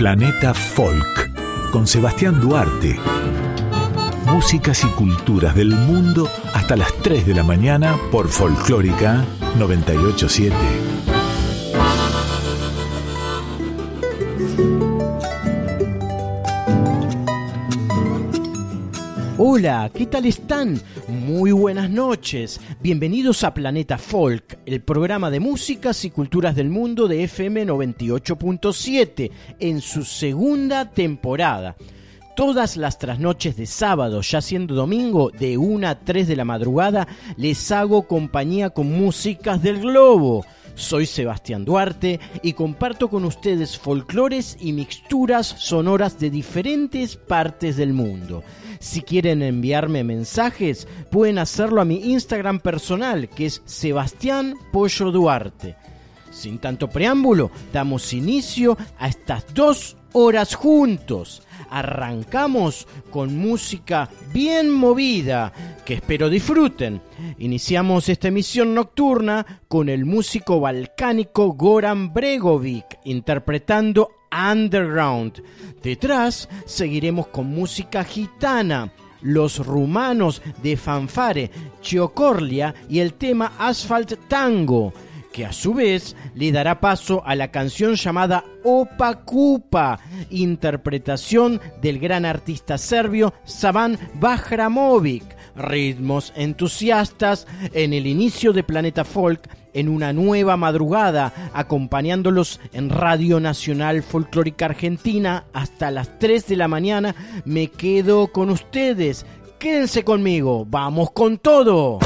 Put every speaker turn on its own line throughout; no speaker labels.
Planeta Folk, con Sebastián Duarte. Músicas y culturas del mundo hasta las 3 de la mañana por Folclórica 98.7.
Hola, ¿qué tal están? Muy buenas noches. Bienvenidos a Planeta Folk, el programa de músicas y culturas del mundo de FM 98.7, en su segunda temporada. Todas las trasnoches de sábado, ya siendo domingo, de 1 a 3 de la madrugada, les hago compañía con músicas del globo. Soy Sebastián Duarte y comparto con ustedes folclores y mixturas sonoras de diferentes partes del mundo. Si quieren enviarme mensajes, pueden hacerlo a mi Instagram personal, que es Sebastián Pollo Duarte. Sin tanto preámbulo, damos inicio a estas 2 horas juntos. Arrancamos con música bien movida, que espero disfruten. Iniciamos esta emisión nocturna con el músico balcánico Goran Bregovic interpretando Underground. Detrás seguiremos con música gitana, los rumanos de Fanfare, Chiocorlia y el tema Asphalt Tango, que a su vez le dará paso a la canción llamada Opa Kupa, interpretación del gran artista serbio Savan Bahramovic. Ritmos entusiastas en el inicio de Planeta Folk, en una nueva madrugada, acompañándolos en Radio Nacional Folclórica Argentina hasta las 3 de la mañana. Me quedo con ustedes. Quédense conmigo. ¡Vamos con todo!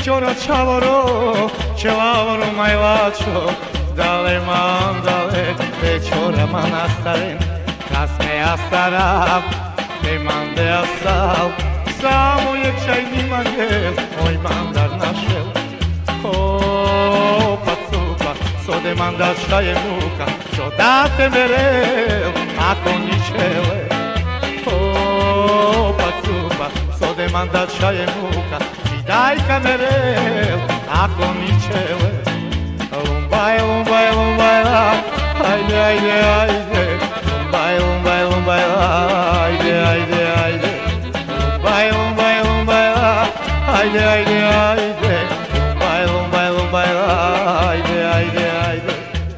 Choro chavoro, chavoro mailacho, dale mandale, te chora manastaren, kasme astarab, te mande asal, samo je čaj nimanje, oj mandar našel. O, pacupa, sode mandar šta je muka, čo date merel, ako ničele. O, pacupa, sode mandar šta je muka, daj kamerel, ako ničele. Lumbaj, lumbaj, lumbaj, ajde, ajde, ajde. Lumbaj, lumbaj, lumbaj, ajde, ajde, ajde. Lumbaj, lumbaj, lumbaj, ajde, ajde, ajde. Lumbaj, lumbaj, lumbaj, ajde, ajde, ajde.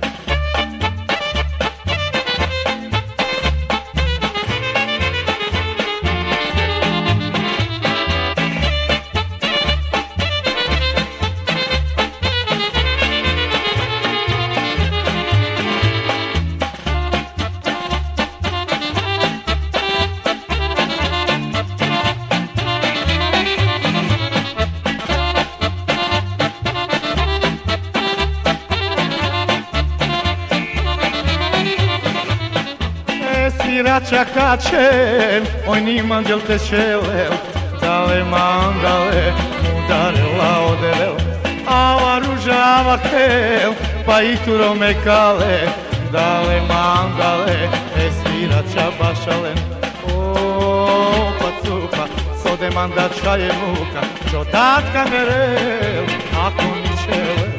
Čakačem, oj niman del te čelel, dale mandale, udarela oderel, ava ruža ava kel, pa ituro me kale, dale mandale, svira čabašalen. O, pacupa, sode mandača je muka, čo datka merel, ako ničele.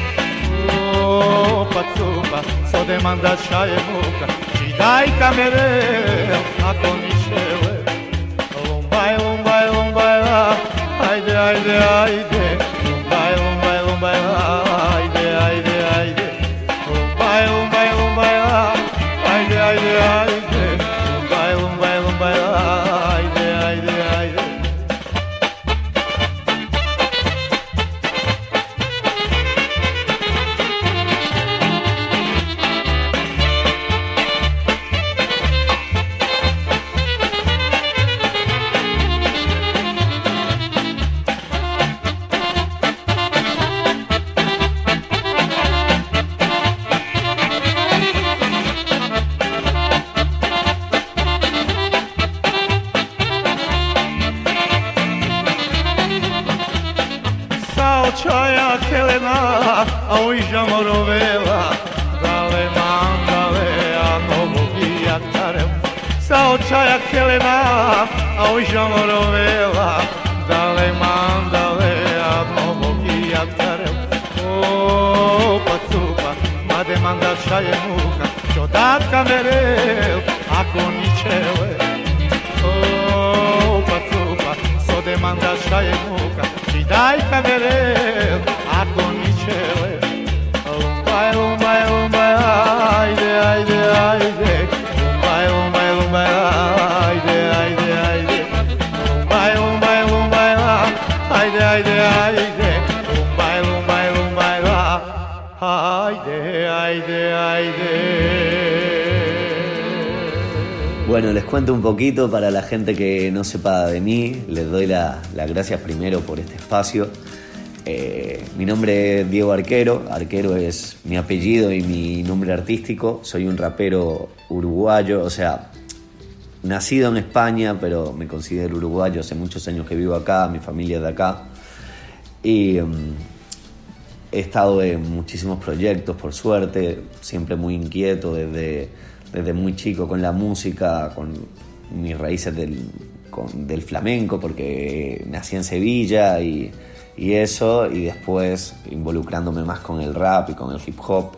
O, pacupa, sode mandača je muka, daj kamerel, ako ničele. Lumbaj, lumbaj, lumbaj, ajde, ajde, ajde. Lumbaj, lumbaj, lumbaj, ajde, ajde, ajde. Lumbaj, lumbaj, lumbaj, ajde, ajde, ajde. Lumbaj, lumbaj, lumbaj, ajde, ajde, ajde. Čaja kelena, a uiža morovela, dale mandale, a novogi jaktarel. Sa očaja kelena, a uiža morovela, dale mandale, a novogi jaktarel. O, pacupa, made mandača je muka, čo datka merel, ako ničele. O, pacupa, sode mandača je muka, daj kamerel, ako ničele. Lumbaj, lumbaj, lumbaj, ajde, ajde, ajde. Lumbaj, lumbaj, lumbaj, ajde, ajde, ajde. Lumbaj, lumbaj, lumbaj, ajde, ajde, ajde. Lumbaj, lumbaj, lumbaj, ajde, ajde, ajde.
Bueno, les cuento un poquito para la gente que no sepa de mí. Les doy las gracias primero por este espacio. Mi nombre es Diego Arquero. Arquero es mi apellido y mi nombre artístico. Soy un rapero uruguayo, o sea, nacido en España, pero me considero uruguayo. Hace muchos años que vivo acá, mi familia es de acá. Y he estado en muchísimos proyectos, por suerte, siempre muy inquieto desde muy chico con la música, con mis raíces del flamenco, porque nací en Sevilla y eso, y después involucrándome más con el rap y con el hip hop.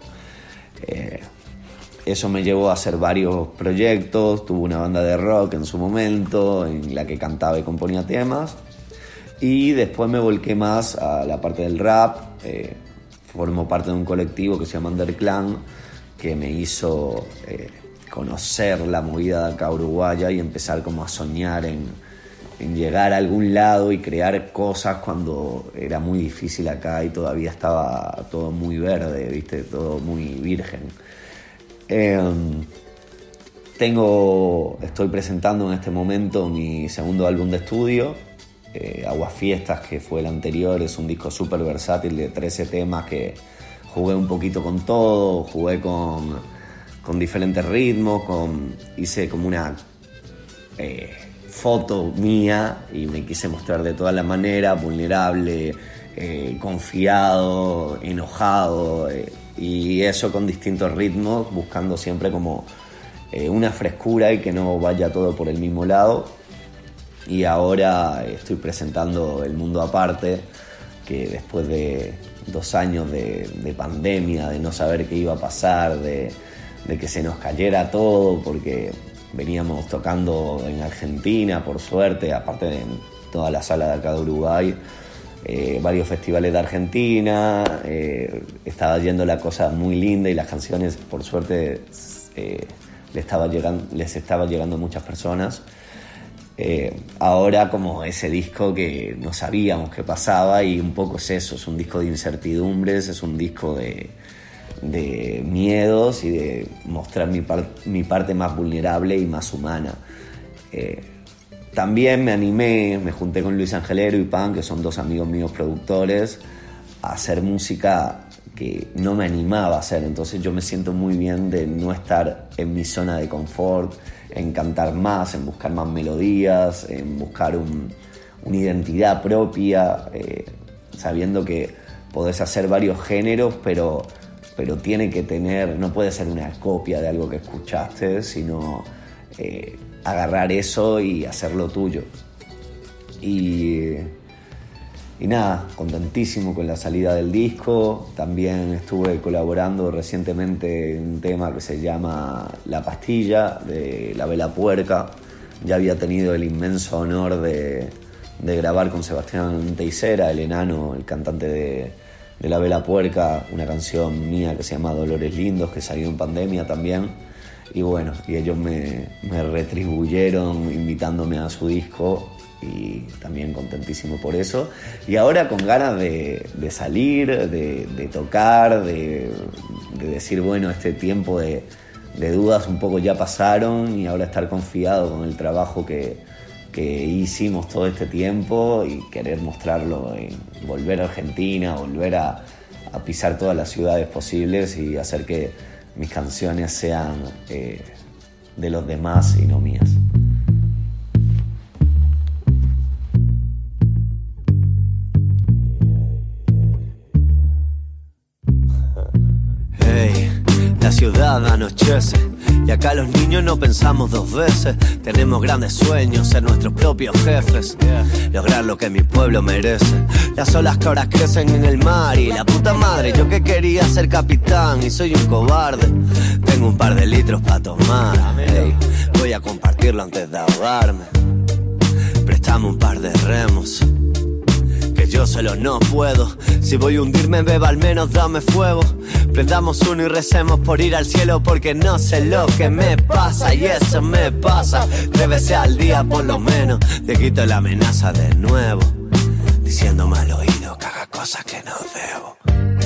Eso me llevó a hacer varios proyectos. Tuve una banda de rock en su momento, en la que cantaba y componía temas, y después me volqué más a la parte del rap. Formo parte de un colectivo que se llama Underclan, que me hizo conocer la movida de acá uruguaya y empezar como a soñar en llegar a algún lado y crear cosas cuando era muy difícil acá y todavía estaba todo muy verde, ¿viste? Todo muy virgen. Estoy presentando en este momento mi segundo álbum de estudio, Aguafiestas, que fue el anterior, es un disco súper versátil de 13 temas que jugué un poquito con todo, jugué con diferentes ritmos, hice como una foto mía y me quise mostrar de todas las maneras, vulnerable, confiado, enojado, y eso con distintos ritmos, buscando siempre como una frescura y que no vaya todo por el mismo lado. Y ahora estoy presentando El Mundo Aparte, que después de 2 años de pandemia, de no saber qué iba a pasar, de que se nos cayera todo, porque veníamos tocando en Argentina, por suerte, aparte de toda la sala de acá de Uruguay, varios festivales de Argentina, estaba yendo la cosa muy linda y las canciones, por suerte, les estaba llegando a muchas personas. Ahora como ese disco que no sabíamos qué pasaba, y un poco es eso, es un disco de incertidumbres, es un disco de miedos y de mostrar mi parte más vulnerable y más humana. También me junté con Luis Angelero y Pan, que son 2 amigos míos productores, a hacer música que no me animaba a hacer, entonces yo me siento muy bien de no estar en mi zona de confort, en cantar más, en buscar más melodías, en buscar una identidad propia, sabiendo que podés hacer varios géneros, pero tiene que tener, no puede ser una copia de algo que escuchaste, sino agarrar eso y hacerlo tuyo. Y nada, contentísimo con la salida del disco. También estuve colaborando recientemente en un tema que se llama La Pastilla, de La Vela Puerca. Ya había tenido el inmenso honor de grabar con Sebastián Teixeira, el enano, el cantante de La Vela Puerca, una canción mía que se llama Dolores Lindos, que salió en pandemia también. Y bueno, y ellos me retribuyeron invitándome a su disco, y también contentísimo por eso. Y ahora con ganas de salir, de tocar, de decir, bueno, este tiempo de dudas un poco ya pasaron, y ahora estar confiado con el trabajo que hicimos todo este tiempo, y querer mostrarlo, volver a Argentina, volver a pisar todas las ciudades posibles y hacer que mis canciones sean de los demás y no mías.
La ciudad anochece y acá los niños no pensamos 2 veces. Tenemos grandes sueños, ser nuestros propios jefes, lograr lo que mi pueblo merece. Las olas que ahora crecen en el mar y la puta madre, yo que quería ser capitán y soy un cobarde. Tengo un par de litros para tomar, voy a compartirlo antes de ahogarme. Préstame un par de remos, que yo solo no puedo. Si voy a hundirme, beba, al menos dame fuego. Prendamos uno y recemos por ir al cielo, porque no sé lo que me pasa, y eso me pasa 3 veces al día por lo menos. Te quito la amenaza de nuevo, diciéndome al oído que haga cosas que no debo.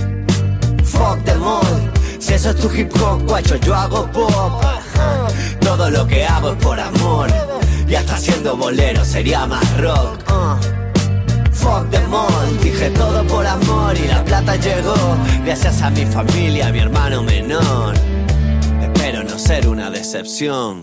Fuck them all, si eso es tu hip hop, guacho, yo hago pop. Todo lo que hago es por amor, y hasta siendo bolero sería más rock. Fuck them all, dije todo por amor, y la plata llegó gracias a mi familia, a mi hermano menor. Espero no ser una decepción,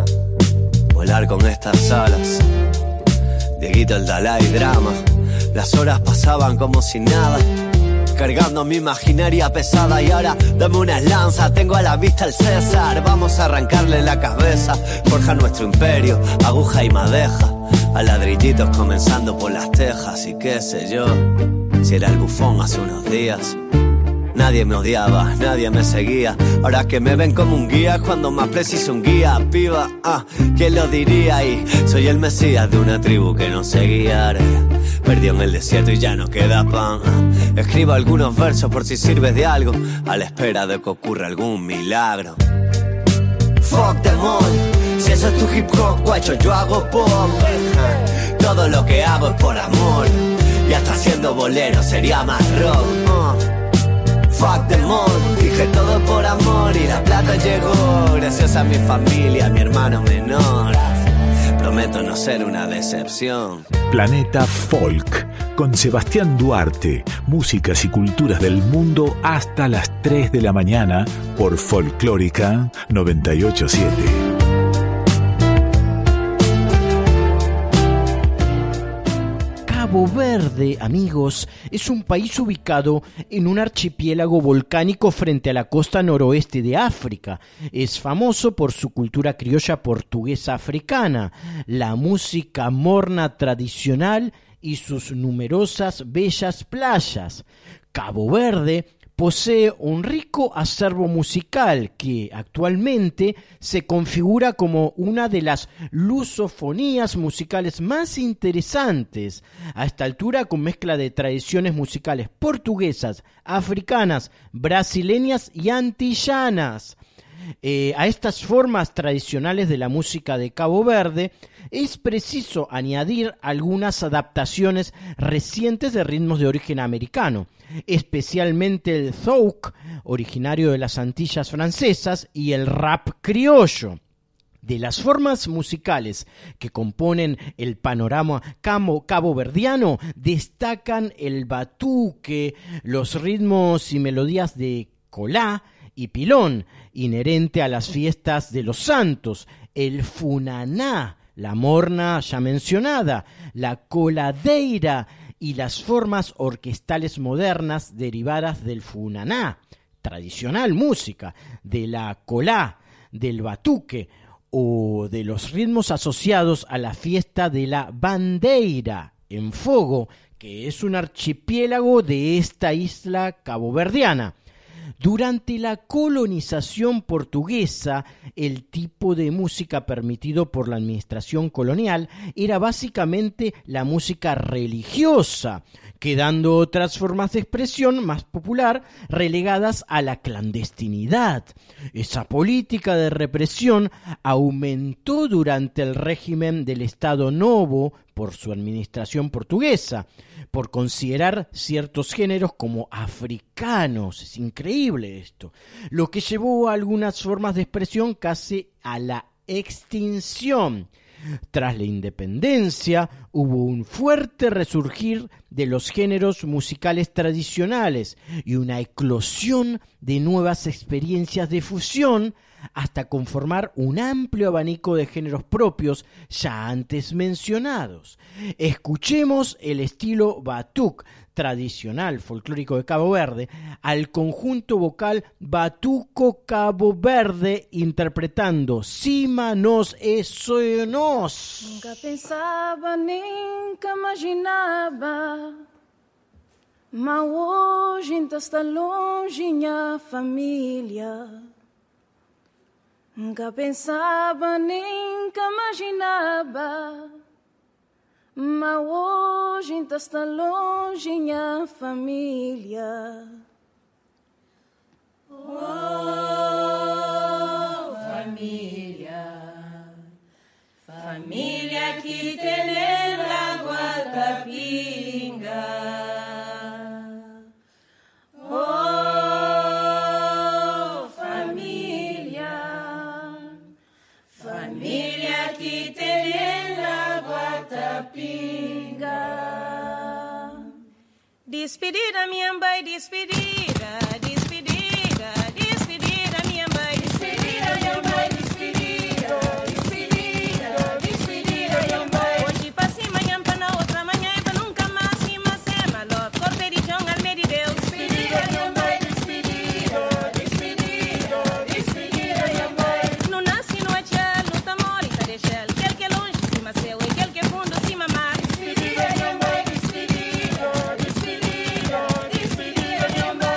volar con estas alas. Dieguito, el Dalai Drama. Las horas pasaban como si nada, cargando mi imaginaria pesada. Y ahora dame unas lanzas, tengo a la vista el César. Vamos a arrancarle la cabeza, forja nuestro imperio, aguja y madeja, a ladrillitos comenzando por las tejas. Y qué sé yo, si era el bufón hace unos días. Nadie me odiaba, nadie me seguía. Ahora que me ven como un guía, cuando más preciso un guía, piba, ¿quién lo diría? Y soy el mesías de una tribu que no se guiara. Perdió en el desierto y ya no queda pan. Escribo algunos versos por si sirve de algo, a la espera de que ocurra algún milagro. Fuck them all, si eso es tu hip hop, guacho, yo hago pop. Todo lo que hago es por amor, y hasta siendo bolero sería más rock. Fuck them all, dije todo por amor, y la plata llegó gracias a mi familia, a mi hermano menor. Prometo no ser una decepción.
Planeta Folk, con Sebastián Duarte, músicas y culturas del mundo hasta las 3 de la mañana por Folclórica 98.7.
Cabo Verde, amigos, es un país ubicado en un archipiélago volcánico frente a la costa noroeste de África. Es famoso por su cultura criolla portuguesa africana, la música morna tradicional y sus numerosas bellas playas. Cabo Verde posee un rico acervo musical que actualmente se configura como una de las lusofonías musicales más interesantes, a esta altura con mezcla de tradiciones musicales portuguesas, africanas, brasileñas y antillanas. A estas formas tradicionales de la música de Cabo Verde es preciso añadir algunas adaptaciones recientes de ritmos de origen americano, especialmente el zouk, originario de las Antillas francesas, y el rap criollo. De las formas musicales que componen el panorama caboverdiano destacan el batuque, los ritmos y melodías de colá y pilón, inherente a las fiestas de los santos, el funaná, la morna ya mencionada, la coladeira y las formas orquestales modernas derivadas del funaná, tradicional música, de la colá, del batuque o de los ritmos asociados a la fiesta de la bandeira en Fogo, que es un archipiélago de esta isla caboverdiana. Durante la colonización portuguesa, el tipo de música permitido por la administración colonial era básicamente la música religiosa, quedando otras formas de expresión más popular relegadas a la clandestinidad. Esa política de represión aumentó durante el régimen del Estado Novo por su administración portuguesa, por considerar ciertos géneros como africanos. Es increíble esto, lo que llevó a algunas formas de expresión casi a la extinción. Tras la independencia hubo un fuerte resurgir de los géneros musicales tradicionales y una eclosión de nuevas experiencias de fusión hasta conformar un amplio abanico de géneros propios ya antes mencionados. Escuchemos el estilo batuc tradicional folclórico de Cabo Verde al conjunto vocal Batuco Cabo Verde interpretando Cima Nós é Sonho Nós.
Nunca pensava, nunca imaginava, mas hoje ainda está longe minha família. Nunca pensava, nunca imaginava, mas hoje ainda está longe minha família. Oh, família, família que tem água capinga. Oh, família, família que tem água capinga. Despedida, minha mãe, despedida, despedida, despedida, minha mãe, despedida, minha mãe, despedida, despedida, despedida, minha mãe. Hoje pra cima, amanhã pra na outra, amanhã pra nunca mais, cima, sema, love, corperijão, almeida de Deus. Despedida, minha mãe, despedida, despedida, despedida, minha mãe. Não nasce no achel, no tamori, tá deixel, quel que é longe, cima seu, e quel que é fundo, cima mar. Despedida, minha mãe, despedida, despedida, despedida, minha mãe.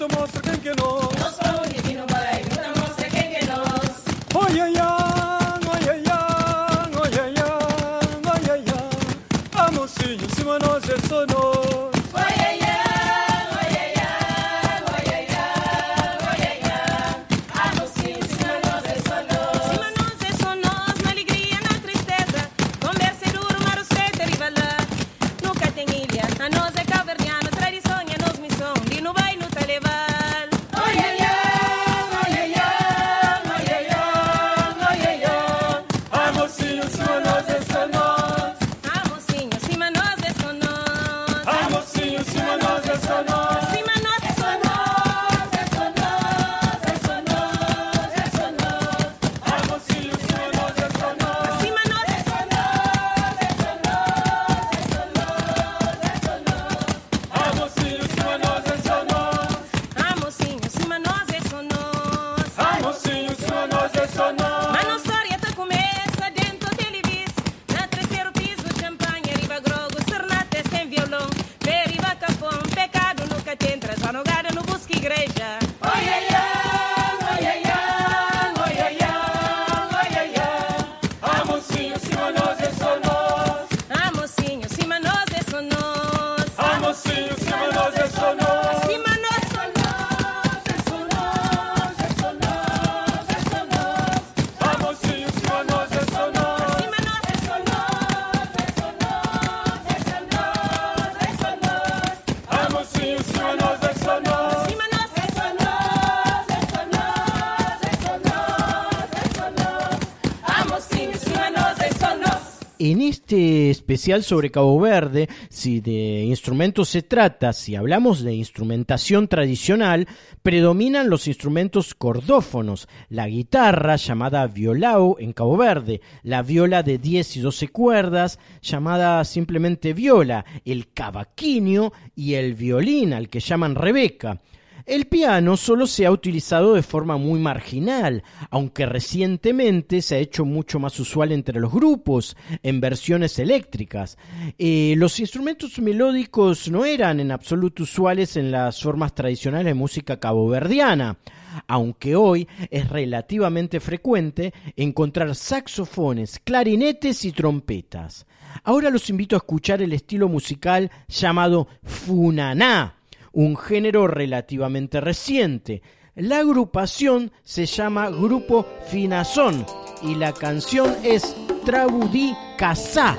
luta mostra quem que é nós.
Nós vamos aqui no balai, luta mostra quem que é nós.
Oi, ai, ai, oi, ai, ai, oi, ai, ai, oi, ai, ai. A mocinho, cima nós é só nós.
Oi, ai, ai, oi, ai, ai, oi, ai, ai, oi, ai, ai. A mocinho, cima nós é só nós. Cima nós é só nós, na alegria, na tristeza. Conversa e duro, mar o certo, rivalã. Nunca tem ilha, a nós é caverniano. Tradição é nos missão, e no vai no televal. Oi, ai, ai, oi, ai, ai, oi, ai, ai, oi, ai, ai.
A mocinho, cima nós é só nós.
A mocinho, cima nós é só nós.
A mocinho, cima nós é só nós.
Cima nós é só nós, é só nós, é só nós, é só nós.
A mocinho, cima nós é só nós.
Cima nós é só nós, é só nós, é só nós, é só nós.
A mocinho, cima nós é só nós.
A mocinho, cima nós é só nós.
A mocinho, cima nós é só nós.
Mas não história tá começa dentro do televis. Na terceiro piso, champanhe, riba grogo, serenata sem violão. Periva capão, pecado nunca te entra. Só no gado no busca igreja. Oi, ai, ai, oi, ai, ai, oi, ai, ai, oi, ai, ai.
A mocinho, cima nós é só nós.
A mocinho, cima nós é só nós.
A mocinho, cima nós é só nós.
Cima nós só nós, é só nós, é só nós, é só nós.
A mocinho, cima nós é só nós.
Cima nós é só nós, é só nós, é só nós, é só nós.
A mocinho, cima nós é só nós.
Cima nós é só nós, é só nós, é só nós, é só nós. A mocinho, cima nós é só nós.
En este especial sobre Cabo Verde, si de instrumentos se trata, si hablamos de instrumentación tradicional, predominan los instrumentos cordófonos, la guitarra llamada violao en Cabo Verde, la viola de 10 y 12 cuerdas llamada simplemente viola, el cavaquinho y el violín al que llaman rebeca. El piano solo se ha utilizado de forma muy marginal, aunque recientemente se ha hecho mucho más usual entre los grupos, en versiones eléctricas. Los instrumentos melódicos no eran en absoluto usuales en las formas tradicionales de música caboverdiana, aunque hoy es relativamente frecuente encontrar saxofones, clarinetes y trompetas. Ahora los invito a escuchar el estilo musical llamado funaná, un género relativamente reciente. La agrupación se llama Grupo Finazón y la canción es Trabudí Casá.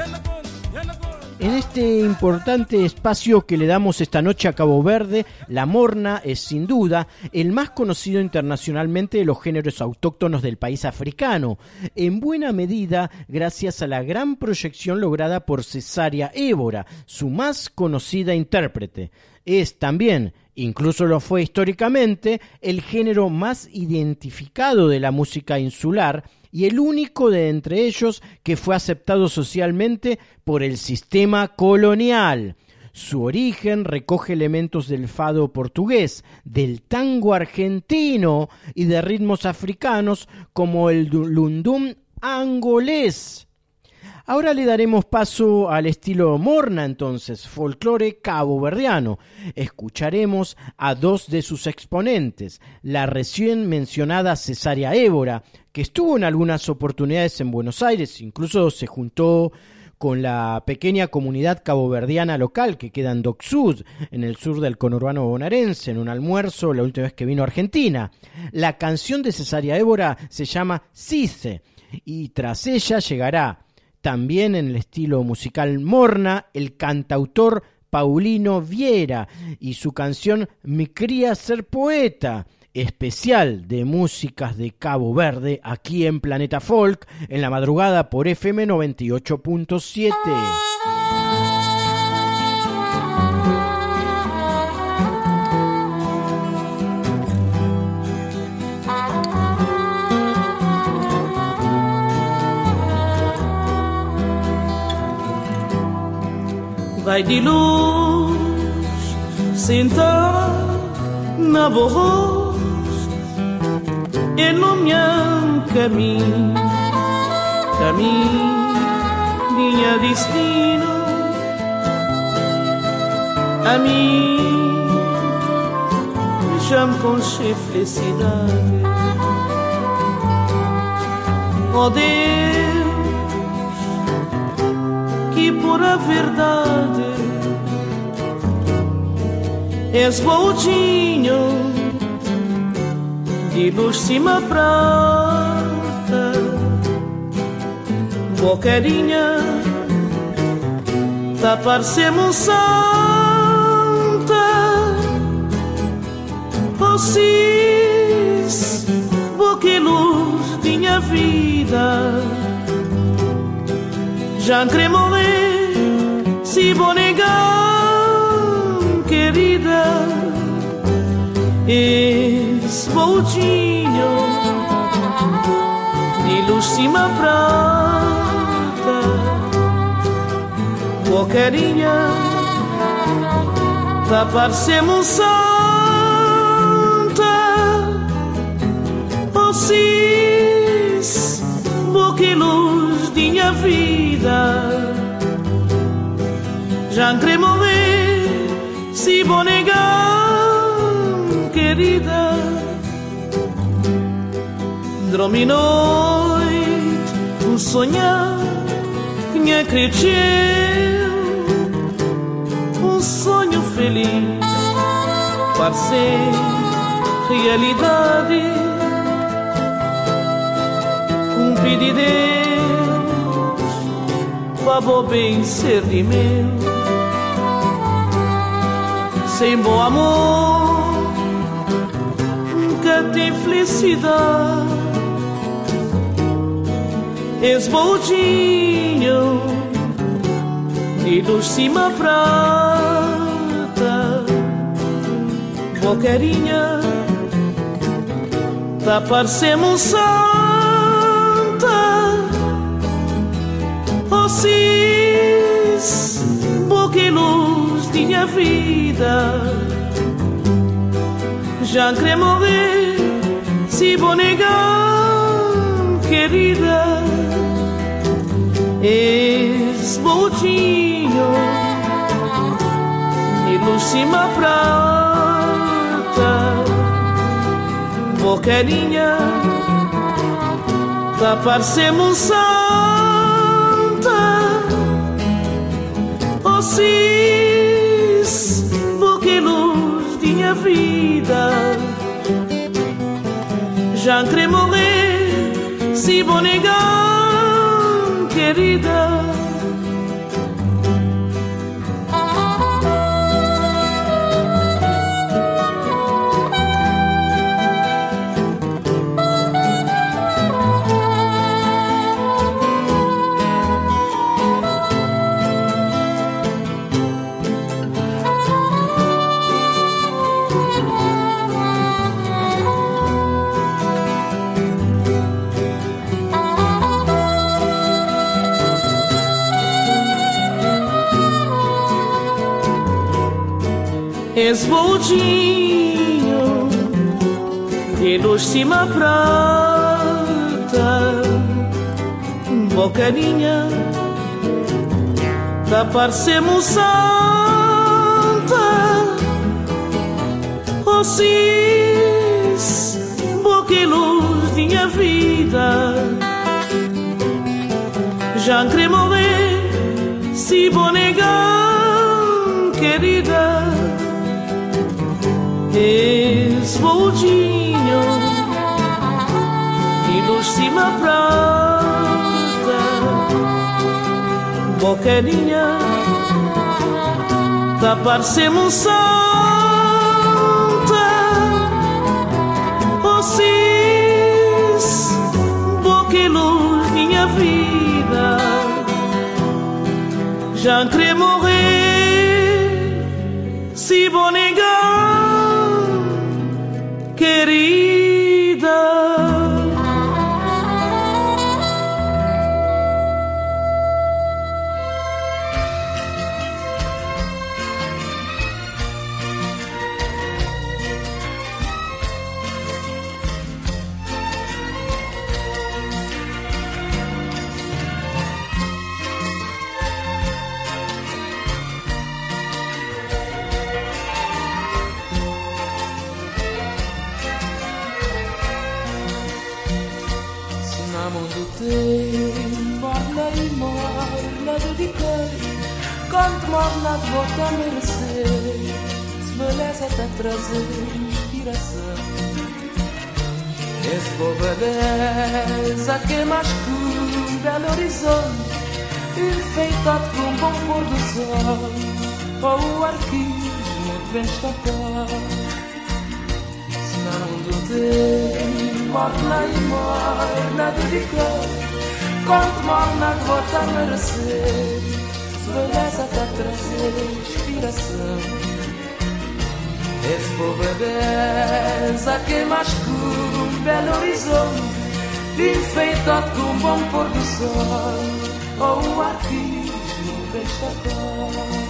En este importante espacio que le damos esta noche a Cabo Verde, la morna es sin duda el más conocido internacionalmente de los géneros autóctonos del país africano, en buena medida gracias a la gran proyección lograda por Cesárea Évora, su más conocida intérprete. Es también, incluso lo fue históricamente, el género más identificado de la música insular y el único de entre ellos que fue aceptado socialmente por el sistema colonial. Su origen recoge elementos del fado portugués, del tango argentino y de ritmos africanos como el lundum angolés. Ahora le daremos paso al estilo morna entonces, folclore caboverdiano. Escucharemos a dos de sus exponentes, la recién mencionada Cesárea Évora, que estuvo en algunas oportunidades en Buenos Aires, incluso se juntó con la pequeña comunidad caboverdiana local que queda en Dock Sud, en el sur del conurbano bonaerense, en un almuerzo la última vez que vino a Argentina. La canción de Cesárea Évora se llama Cice, y tras ella llegará, también en el estilo musical morna, el cantautor Paulino Viera y su canción Mi cría ser poeta, especial de músicas de Cabo Verde, aquí en Planeta Folk, en la madrugada por FM 98.7.
Vai de luz sentar na voz iluminam caminho, minha destino a mim já me conche felicidade. Oh Deus, que pura verdade és voltinho de luz cima prata, bocarinha tá parecendo santa. Vocês, boca luz de minha vida, já quero morrer se vou negar, querida. És voltinho de luz cima prata, bocarinha tá parecendo santa. Vocês, boca luz de minha vida, já quero morrer se vou negar, querida. Dormi noite, sonhar que me acreditou, sonho feliz, parece realidade. Pedi Deus para bem ser de meu, sem bom amor nunca tem felicidade. És voltinho de luz cima prata, bocarinha tá parecendo santa. Vocês, boca luz de minha vida, já quero morrer se vou negar, querida. És voltinho de luz cima prata, bocarinha tá parecendo santa. Vocês, boca luz de minha vida, já quero morrer se vou negar, querida. esboldinho e luz cima prata, bocaninha da parecemos santa, oh cis, boca e luz minha vida, já querer morrer se vou negar, querida, esboldinho e luz cima prata, bocaninha da parecemos santa, oh cis, boca e luz minha vida, já querer morrer se vou negar, querida.
Quanto morna de boca a merecer, se beleza até trazer inspiração. Esse boa beleza que é mais que um belo horizonte, enfeitado com um bom pôr do sol, ou o arquismo muito bem estampado. Se não mundo tem morna e morna de cor, quanto morna de boca a merecer, beleza até trazer inspiração. Esse povo beleza que é mais que um belo horizonte, enfeitado com um bom pôr do sol, ou o arquismo bem estampado.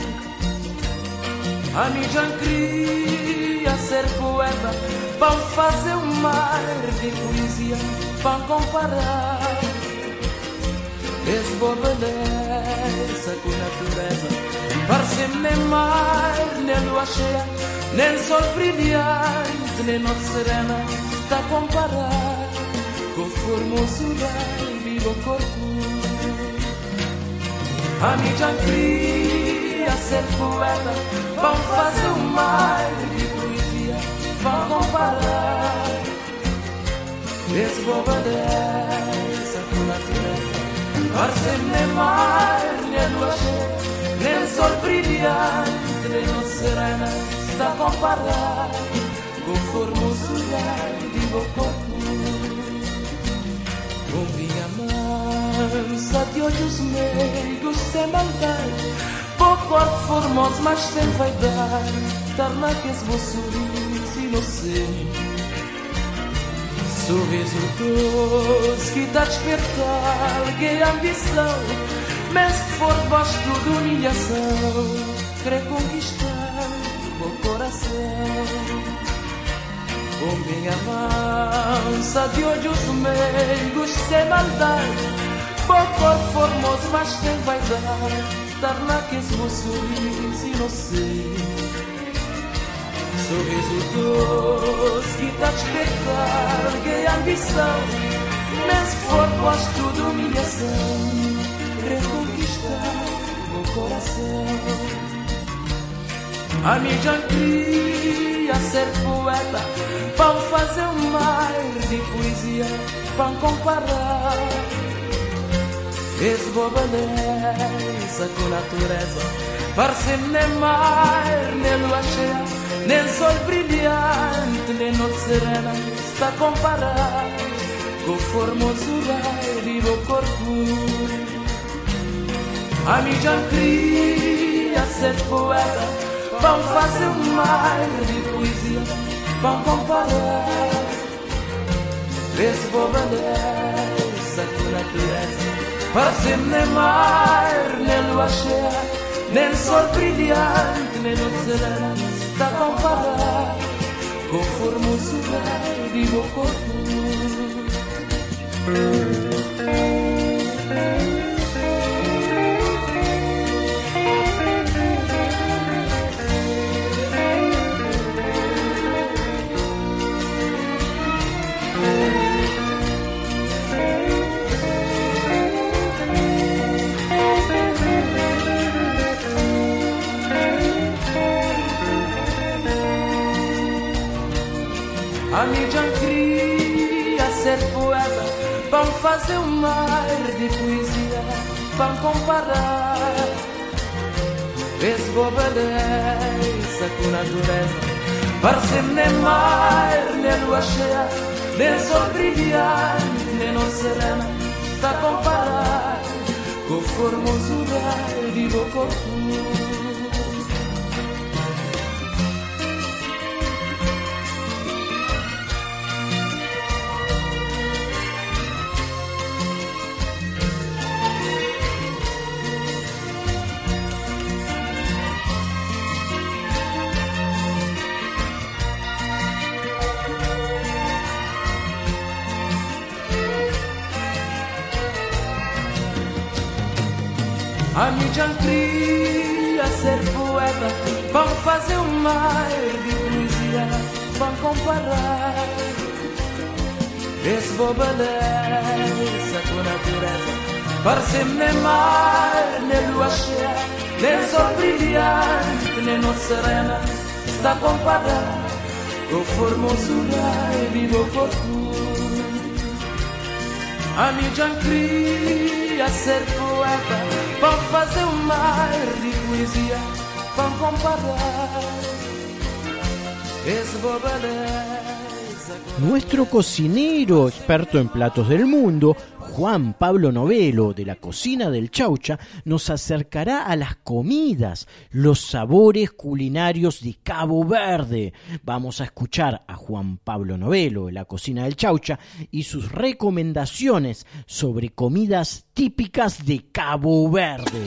A mim já queria ser poeta, para fazer um mar de poesia, para comparar esse boa beleza com natureza, parece-me nem mar, nem lua cheia, nem sol brilhante, nem noite serena, está a comparar com formosura e vivo corpo. A mim já queria ser poeta, para fazer um mar de poesia, para comparar esse boa beleza com natureza, parece-me nem mar, nem lua cheia, nem sol brilhante, nem noite serena, está a comparar com formosura de meu corpo. Com minha mansa de olhos meigos sem maldade, por corpo formoso mas sem vaidade, torna que esse meu sorriso inocente, sorriso doce que dá despertar alguém ambição, mas que for debaixo de humilhação, querer conquistar o coração. Com minha mansa de olhos meigos sem maldade, por corpo formoso mas sem vaidade, torna que esse meu sorriso inocente, sorriso doce que dá despertar que ambição, mas que for posto de humilhação, reconquistar o coração. A mim já queria ser poeta, para fazer um mar de poesia, para comparar esse boa beleza com natureza, parece-me nem mar, nem lua cheia, nem sol brilhante, nem noite serena, está a comparar com formosura de meu corpo. A mim já queria ser poeta, para fazer um mar de poesia, para comparar esse boa beleza com natureza, parece-me nem mar, nem lua cheia, nem sol brilhante, nem noite serena, está comparado com formosura de meu corpo. A mídia queria ser poeta, para fazer um mar de poesia, para comparar. Esse beleza com natureza, parece-me nem mar, nem lua cheia, nem sol brilhante, nem noite serena, está a comparar com a formosura de meu corpo. A mídia queria ser poeta, para fazer um mar de poesia, para comparar. Esse beleza com a natureza, parece-me nem mar, nem lua cheia, nem sol brilhante, nem noite serena, está a comparar com a formosura de meu corpo. A mídia queria ser poeta, para fazer um mar de poesia, para comparar. Esse beleza.
Nuestro cocinero experto en platos del mundo, Juan Pablo Novelo, de la cocina del Chaucha, nos acercará a las comidas, los sabores culinarios de Cabo Verde. Vamos a escuchar a Juan Pablo Novelo, de la cocina del Chaucha, y sus recomendaciones sobre comidas típicas de Cabo Verde.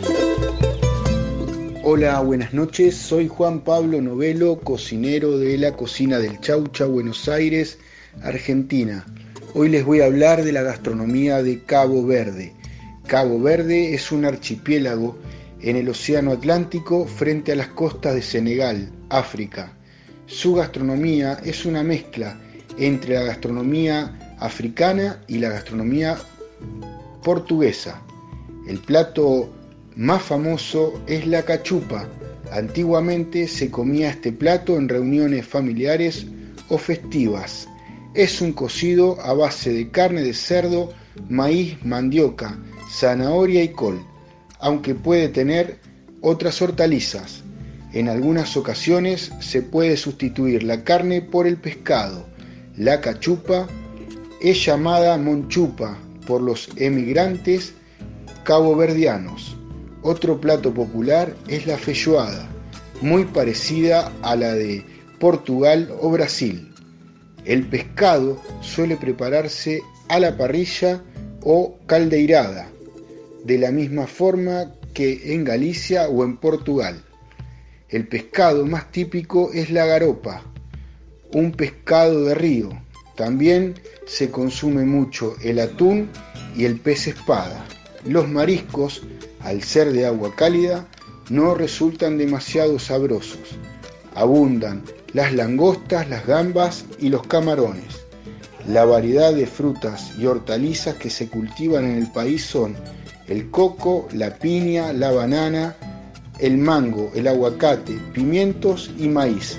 Hola, buenas noches. Soy Juan Pablo Novelo, cocinero de la cocina del Chaucha, Buenos Aires, Argentina. Hoy les voy a hablar de la gastronomía de Cabo Verde. Cabo Verde es un archipiélago en el Océano Atlántico frente a las costas de Senegal, África. Su gastronomía es una mezcla entre la gastronomía africana y la gastronomía portuguesa. El plato más famoso es la cachupa. Antiguamente se comía este plato en reuniones familiares o festivas. Es un cocido a base de carne de cerdo, maíz, mandioca, zanahoria y col, aunque puede tener otras hortalizas. En algunas ocasiones se puede sustituir la carne por el pescado. La cachupa es llamada monchupa por los emigrantes caboverdianos. Otro plato popular es la feijoada, muy parecida a la de Portugal o Brasil. El pescado suele prepararse a la parrilla o caldeirada, de la misma forma que en Galicia o en Portugal. El pescado más típico es la garopa, un pescado de río. También se consume mucho el atún y el pez espada. Los mariscos, al ser de agua cálida, no resultan demasiado sabrosos. Abundan las langostas, las gambas y los camarones. La variedad de frutas y hortalizas que se cultivan en el país son el coco, la piña, la banana, el mango, el aguacate, pimientos y maíz.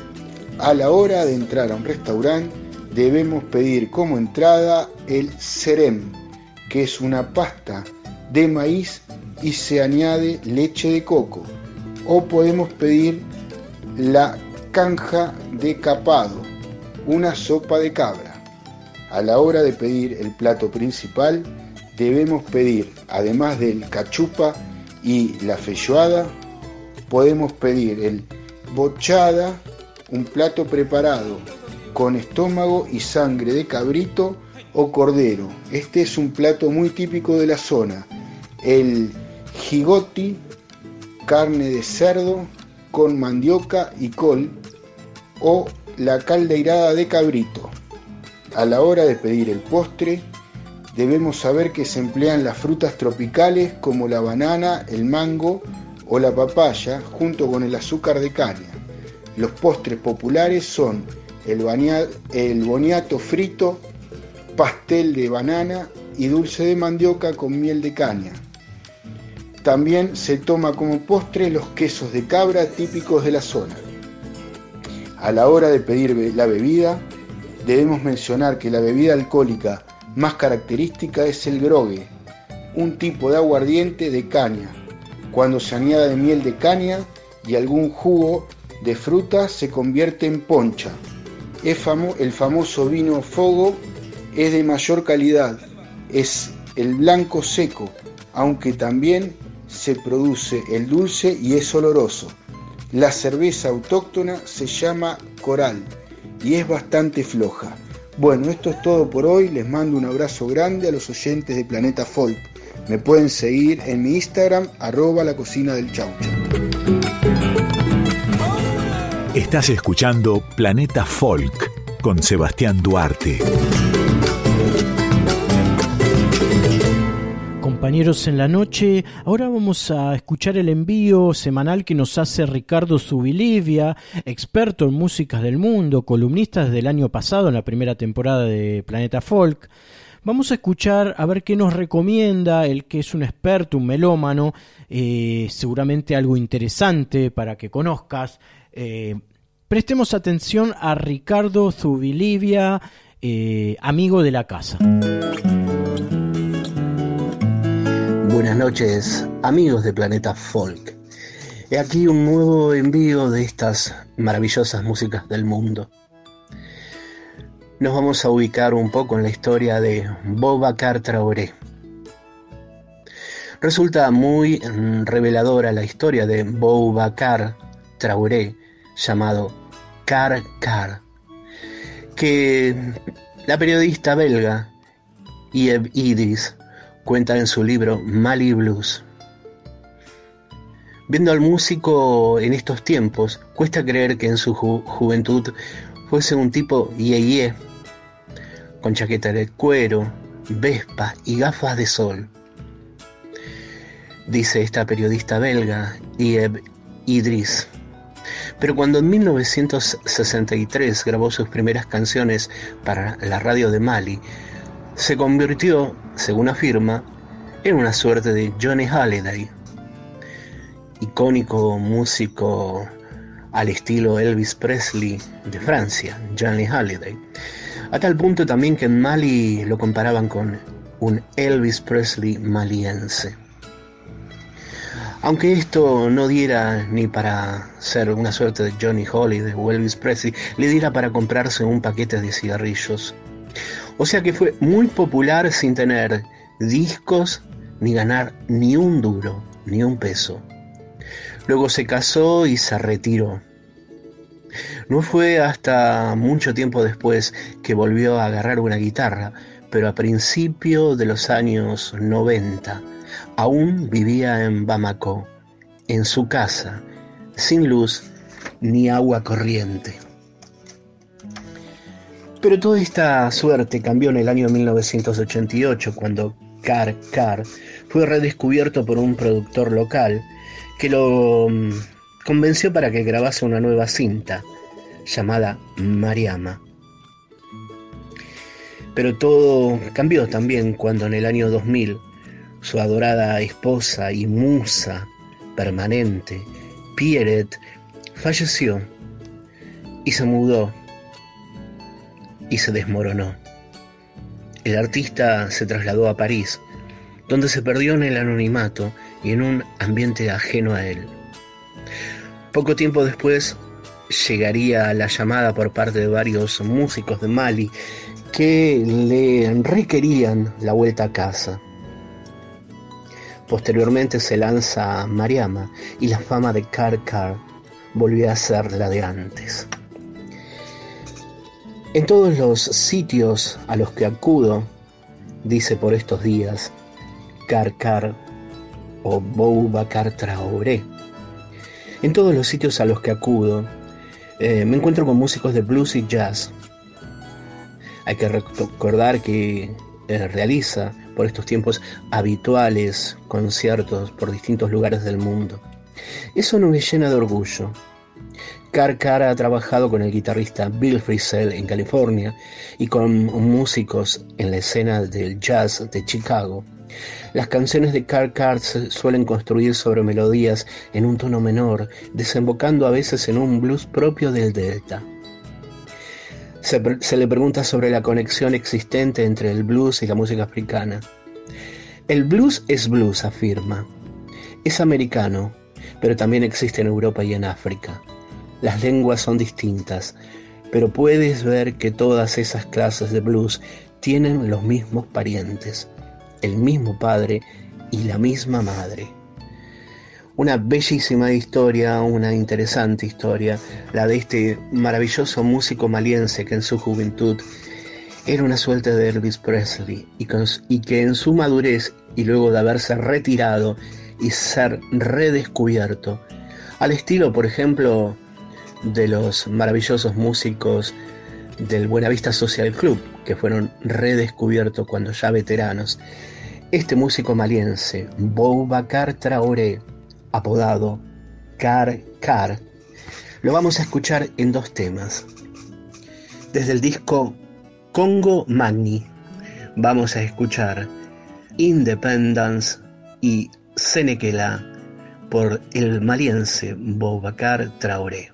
A la hora de entrar a un restaurante debemos pedir como entrada el serem, que es una pasta de maíz y se añade leche de coco, o podemos pedir la canja de capado, una sopa de cabra. A la hora de pedir el plato principal debemos pedir, además del cachupa y la feijoada, podemos pedir el bochada, un plato preparado con estómago y sangre de cabrito o cordero. Este es un plato muy típico de la zona. El jigoti, carne de cerdo con mandioca y col, o la caldeirada de cabrito. A la hora de pedir el postre, debemos saber que se emplean las frutas tropicales como la banana, el mango o la papaya, junto con el azúcar de caña. Los postres populares son el boniato frito, pastel de banana y dulce de mandioca con miel de caña. También se toma como postre los quesos de cabra típicos de la zona. A la hora de pedir la bebida, debemos mencionar que la bebida alcohólica más característica es el grogue, un tipo de aguardiente de caña. Cuando se añade miel de caña y algún jugo de fruta se convierte en poncha. El famoso vino Fogo es de mayor calidad, es el blanco seco, aunque también se produce el dulce y es oloroso. La cerveza autóctona se llama Coral y es bastante floja. Bueno, esto es todo por hoy. Les mando un abrazo grande a los oyentes de Planeta Folk. Me pueden seguir en mi Instagram, @lacocinadelchaucha.
Estás escuchando Planeta Folk con Sebastián Duarte.
Compañeros en la noche, ahora vamos a escuchar el envío semanal que nos hace Ricardo Zubilivia, experto en músicas del mundo, columnista desde el año pasado en la primera temporada de Planeta Folk. Vamos a escuchar a ver qué nos recomienda, él que es un experto, un melómano, seguramente algo interesante para que conozcas. Prestemos atención a Ricardo Zubilivia, amigo de la casa.
Buenas noches, amigos de Planeta Folk. He aquí un nuevo envío de estas maravillosas músicas del mundo. Nos vamos a ubicar un poco en la historia de Boubacar Traoré. Resulta muy reveladora la historia de Boubacar Traoré, llamado Car Car, que la periodista belga Yves Idris cuenta en su libro Mali Blues. Viendo al músico en estos tiempos, cuesta creer que en su juventud fuese un tipo yeye, con chaqueta de cuero, vespa y gafas de sol. Dice esta periodista belga, Yves Idris. Pero cuando en 1963 grabó sus primeras canciones para la radio de Mali, se convirtió, según afirma, en una suerte de Johnny Hallyday, icónico músico al estilo Elvis Presley de Francia, Johnny Hallyday, a tal punto también que en Mali lo comparaban con un Elvis Presley maliense. Aunque esto no diera ni para ser una suerte de Johnny Hallyday o Elvis Presley, le diera para comprarse un paquete de cigarrillos. O sea que fue muy popular sin tener discos ni ganar ni un duro, ni un peso. Luego se casó y se retiró. No fue hasta mucho tiempo después que volvió a agarrar una guitarra, pero a principios de los años 90 aún vivía en Bamako, en su casa, sin luz ni agua corriente. Pero toda esta suerte cambió en el año 1988, cuando Car Car fue redescubierto por un productor local que lo convenció para que grabase una nueva cinta llamada Mariama. Pero todo cambió también cuando en el año 2000 su adorada esposa y musa permanente, Pierrette, falleció y se mudó y se desmoronó. El artista se trasladó a París, donde se perdió en el anonimato y en un ambiente ajeno a él. Poco tiempo después llegaría la llamada por parte de varios músicos de Mali que le requerían la vuelta a casa. Posteriormente se lanza Mariama y la fama de Car Car volvió a ser la de antes. En todos los sitios a los que acudo, dice por estos días, Car Car o Boubacar Traoré, En todos los sitios a los que acudo, me encuentro con músicos de blues y jazz. Hay que recordar que realiza por estos tiempos habituales conciertos por distintos lugares del mundo. Eso no me llena de orgullo. Car Car ha trabajado con el guitarrista Bill Frisell en California y con músicos en la escena del jazz de Chicago. Las canciones de Car Car se suelen construir sobre melodías en un tono menor, desembocando a veces en un blues propio del Delta. Se le pregunta sobre la conexión existente entre el blues y la música africana. El blues es blues, afirma. Es americano, pero también existe en Europa y en África. Las lenguas son distintas, pero puedes ver que todas esas clases de blues tienen los mismos parientes, el mismo padre y la misma madre. Una bellísima historia, una interesante historia, la de este maravilloso músico maliense que en su juventud era una suerte de Elvis Presley y que en su madurez y luego de haberse retirado y ser redescubierto, al estilo, por ejemplo, de los maravillosos músicos del Buenavista Social Club, que fueron redescubiertos cuando ya veteranos, este músico maliense, Boubacar Traoré, apodado Car Car, lo vamos a escuchar en dos temas. Desde el disco Congo Magni vamos a escuchar Independence y Senekela por el maliense Boubacar Traoré.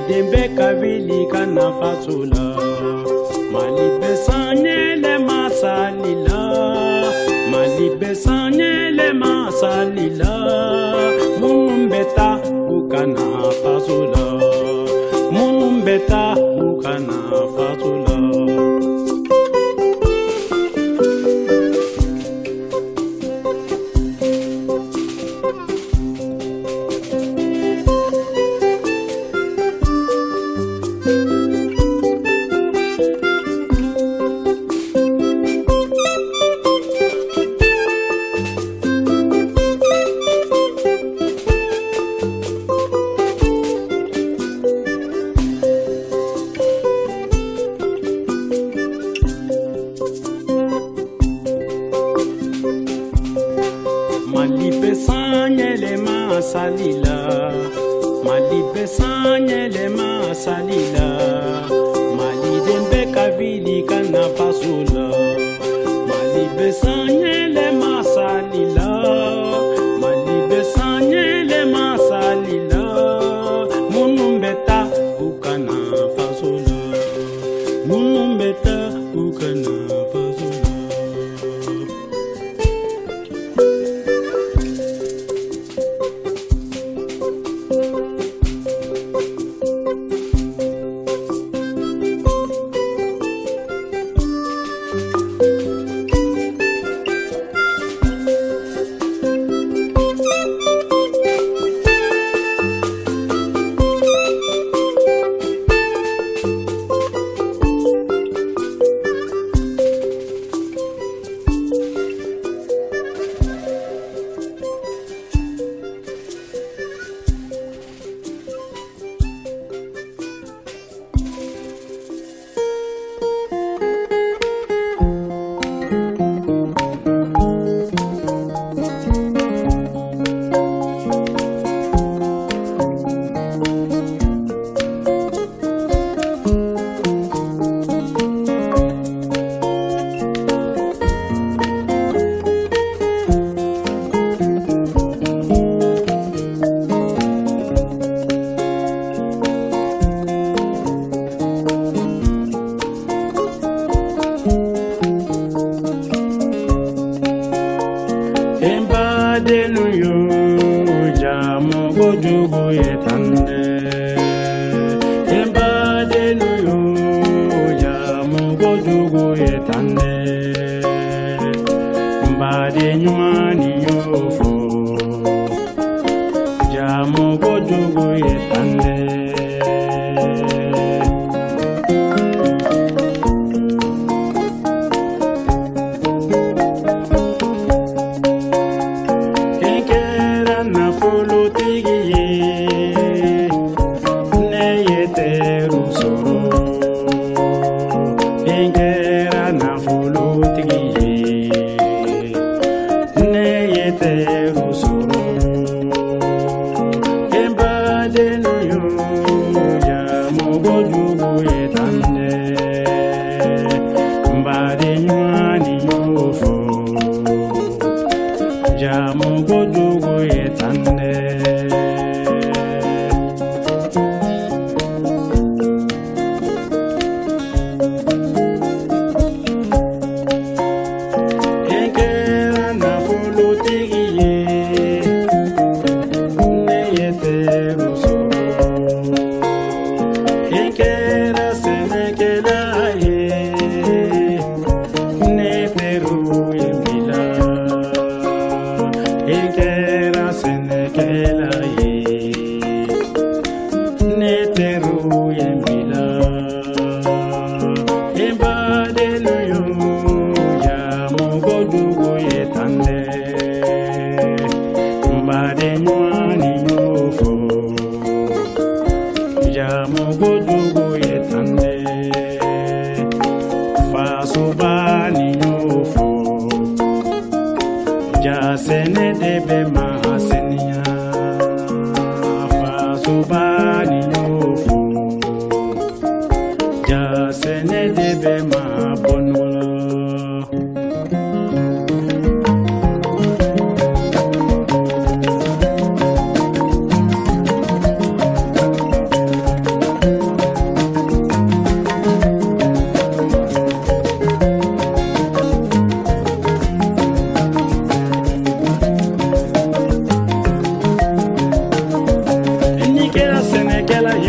dembe kavili kana fasula mali besanyele masalila mali besanyele masalila mumbeta ukana fasula mumbeta ukana fasula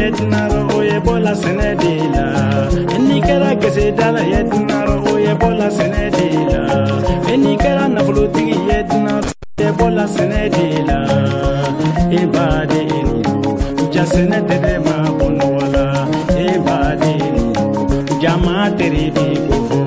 yetnaro oye bola senedila enikera kese dala yetnaro oye bola senedila enikera nafulutigi yetnaro oye bola senedila ibade inu jasene dede ma bonwala ibade inu jama teribi kofo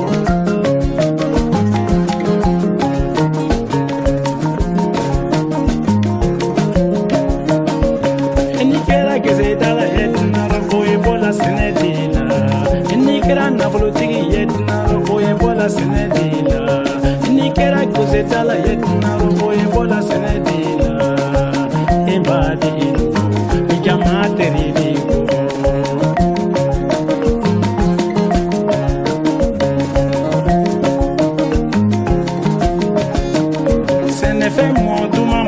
senedila ni kera kuzetala yetna roye bola senedila ibadi jamate ribigo senefe moduma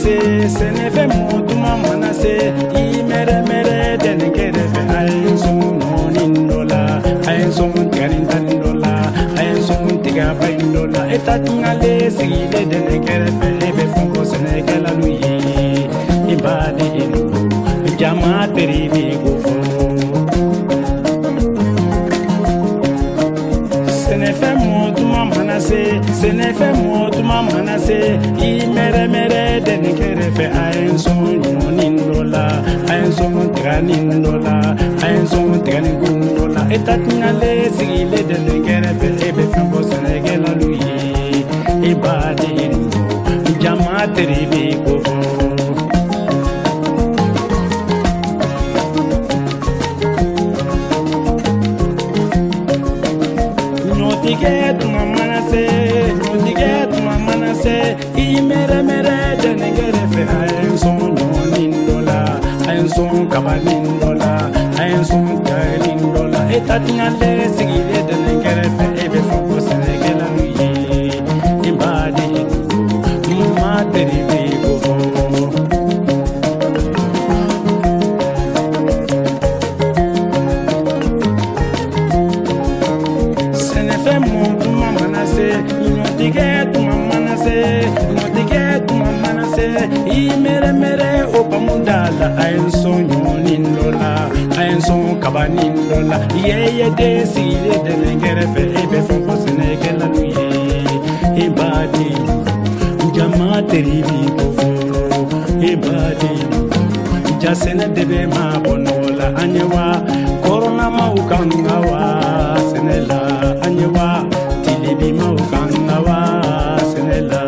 manase imere mere denegere fe ayso nonindola ayso garindandola tiga baindola etatungale sigile denegere fe ebe fongo senegela luyi ibadi inu jamate ribigo senefe moduma manase imere mere denegere fe ayenso nindola ayenso tiganindola ayenso tiganindola etatungale sigile denegere fe ebe fongo senegela luyi ibadi inu jamate ribigo imere mere denegere fe ayenso nindola ayenso kabanindola ayenso tiganindola etatungale sigile denegere fe ebe fongo senegela luyi ibadi inu jamate ribigo imere mere opamundala ayenso nindola ayenso kabanindola yeye desile denegere fe ebe fongo senegela luyi ibadi jamate ribigo ibadi jasene debe ma bonola anyewa corona ma ukangawa senela anyewa tilibi ma ukangawa senela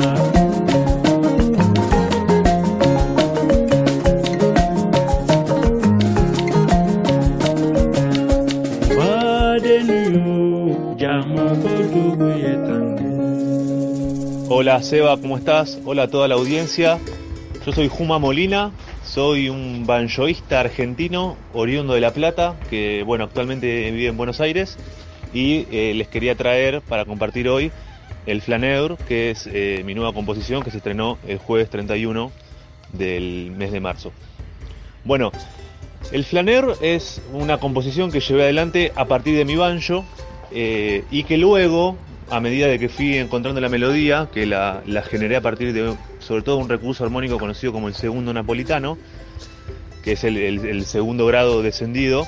Hola Seba, ¿cómo estás? Hola a toda la audiencia. Yo soy Juma Molina, soy un banjoísta argentino oriundo de La Plata, que bueno, actualmente vive en Buenos Aires, y les quería traer para compartir hoy el Flaneur, que es mi nueva composición que se estrenó el jueves 31 del mes de marzo. Bueno, el Flaneur es una composición que llevé adelante a partir de mi banjo y que luego, a medida de que fui encontrando la melodía, que la generé a partir de, sobre todo, un recurso armónico conocido como el segundo napolitano, que es el segundo grado descendido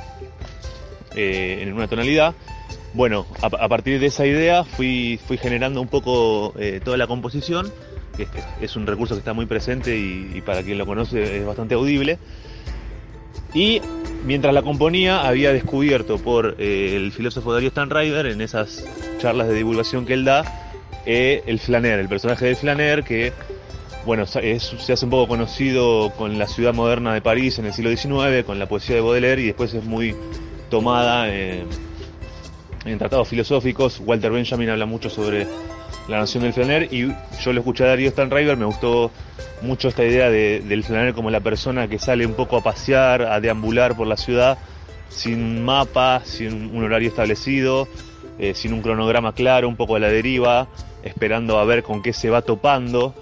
en una tonalidad. Bueno, a partir de esa idea fui generando un poco toda la composición, que es un recurso que está muy presente y para quien lo conoce es bastante audible. Y mientras la componía había descubierto por el filósofo Darío Stanraiver, en esas charlas de divulgación que él da, el Flaneur, el personaje del Flaneur, que bueno, se hace un poco conocido con la ciudad moderna de París en el siglo XIX, con la poesía de Baudelaire, y después es muy tomada en tratados filosóficos. Walter Benjamin habla mucho sobre la noción del Flaneur, y yo lo escuché a Darío Stanraiver, me gustó mucho esta idea del Flaneur como la persona que sale un poco a pasear, a deambular por la ciudad, sin mapa, sin un horario establecido, sin un cronograma claro, un poco a la deriva, esperando a ver con qué se va topando,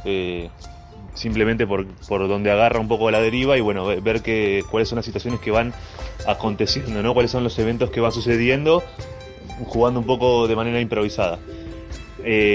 simplemente por donde agarra un poco a la deriva, y bueno, ver cuáles son las situaciones que van aconteciendo, ¿no? Cuáles son los eventos que van sucediendo, jugando un poco de manera improvisada.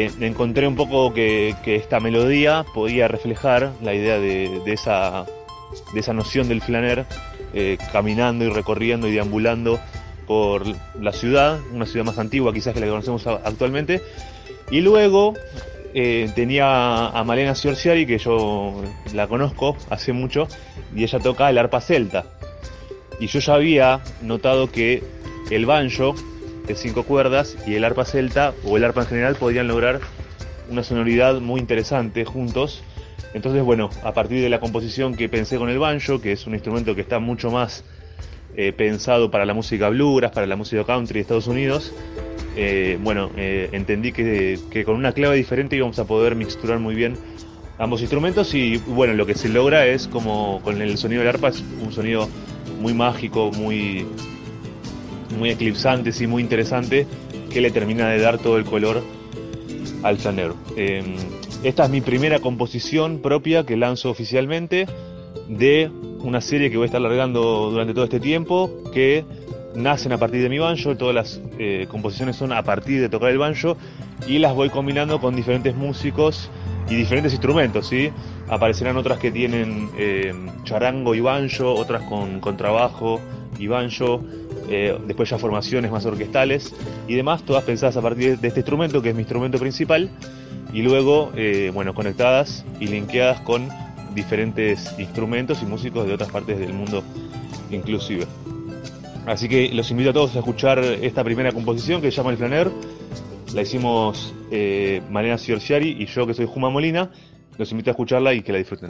Encontré un poco que esta melodía podía reflejar la idea de de esa noción del flaner, caminando y recorriendo y deambulando por la ciudad, una ciudad más antigua quizás que la que conocemos actualmente. Y luego tenía a Malena Siorciari, que yo la conozco hace mucho, y ella toca el arpa celta. Y yo ya había notado que el banjo de 5 cuerdas y el arpa celta, o el arpa en general, podían lograr una sonoridad muy interesante juntos. Entonces, bueno, a partir de la composición que pensé con el banjo, que es un instrumento que está mucho más pensado para la música bluegrass, para la música country de Estados Unidos, entendí que con una clave diferente íbamos a poder mixturar muy bien ambos instrumentos. Y bueno, lo que se logra es, como con el sonido del arpa, es un sonido muy mágico, muy eclipsante, sí, muy interesante, que le termina de dar todo el color al flanero. Esta es mi primera composición propia que lanzo oficialmente de una serie que voy a estar largando durante todo este tiempo, que nacen a partir de mi banjo. Todas las composiciones son a partir de tocar el banjo y las voy combinando con diferentes músicos y diferentes instrumentos, ¿sí? Aparecerán otras que tienen charango y banjo, otras con contrabajo y banjo, después ya formaciones más orquestales y demás, todas pensadas a partir de este instrumento, que es mi instrumento principal, y luego conectadas y linkeadas con diferentes instrumentos y músicos de otras partes del mundo inclusive. Así que los invito a todos a escuchar esta primera composición, que se llama El Flaner. La hicimos Malena Siorciari y yo, que soy Juma Molina. Los invito a escucharla y que la disfruten.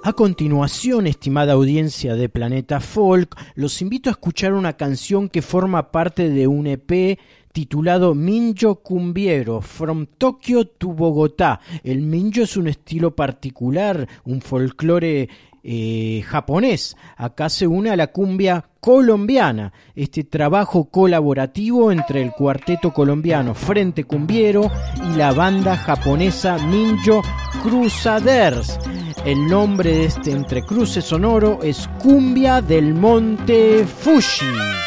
A continuación, estimada audiencia de Planeta Folk, los invito a escuchar una canción que forma parte de un EP titulado Minjo Cumbiero, From Tokyo to Bogotá. El minjo es un estilo particular, un folclore japonés. Acá se une a la cumbia colombiana, este trabajo colaborativo entre el cuarteto colombiano Frente Cumbiero y la banda japonesa Minjo Crusaders. El nombre de este entrecruce sonoro es Cumbia del Monte Fuji.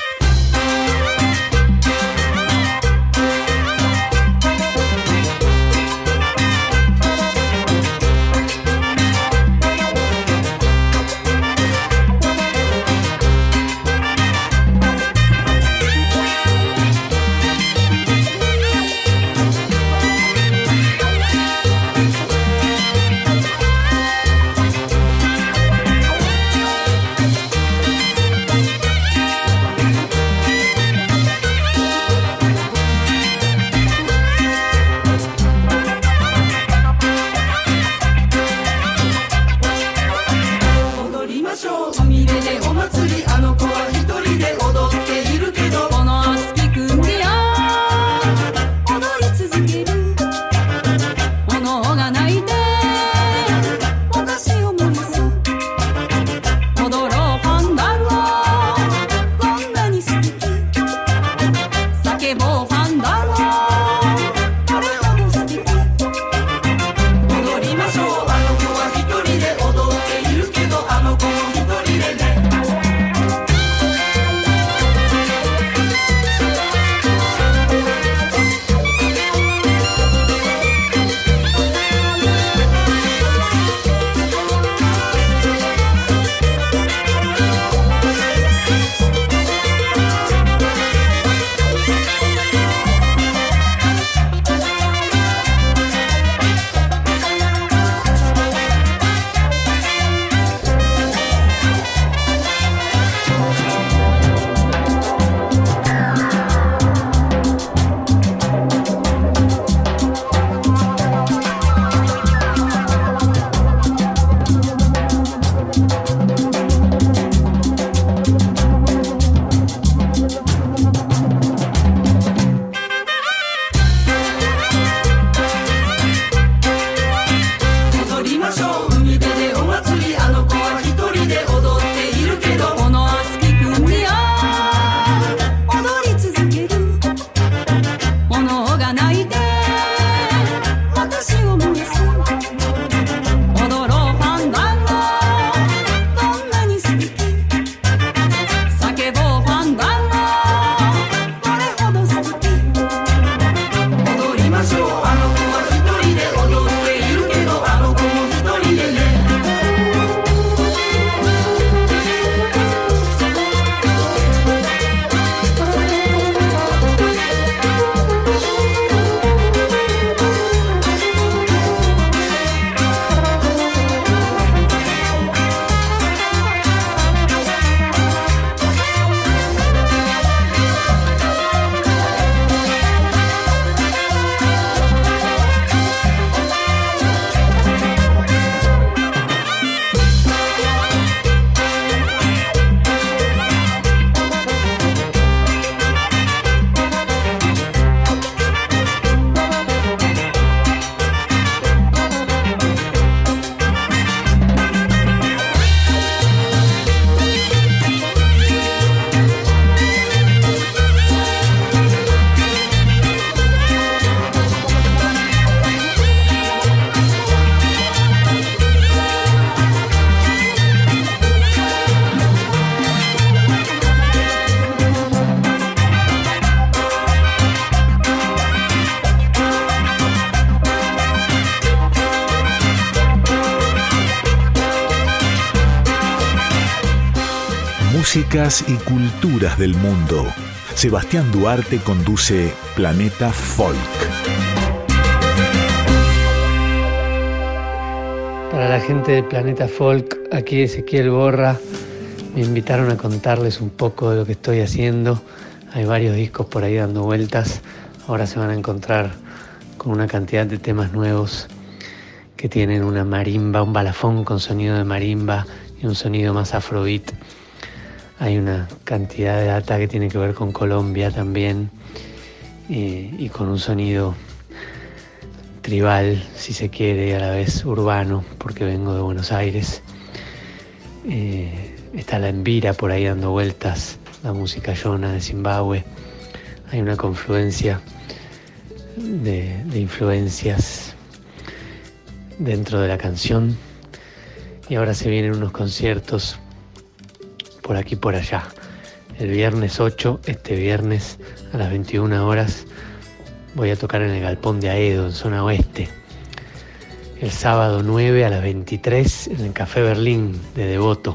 Músicas y culturas del mundo. Sebastián Duarte conduce Planeta Folk.
Para la gente de Planeta Folk, aquí Ezequiel Borra. Me invitaron a contarles un poco de lo que estoy haciendo. Hay varios discos por ahí dando vueltas. Ahora se van a encontrar con una cantidad de temas nuevos que tienen una marimba, un balafón con sonido de marimba y un sonido más afrobeat. Hay una cantidad de data que tiene que ver con Colombia también, y con un sonido tribal, si se quiere, y a la vez urbano, porque vengo de Buenos Aires. Está la Envira por ahí dando vueltas, la música yona de Zimbabue. Hay una confluencia de influencias dentro de la canción, y ahora se vienen unos conciertos por aquí por allá. El viernes 8, este viernes a las 21 horas, voy a tocar en el Galpón de Aedo, en zona oeste. El sábado 9 a las 23 en el Café Berlín de Devoto.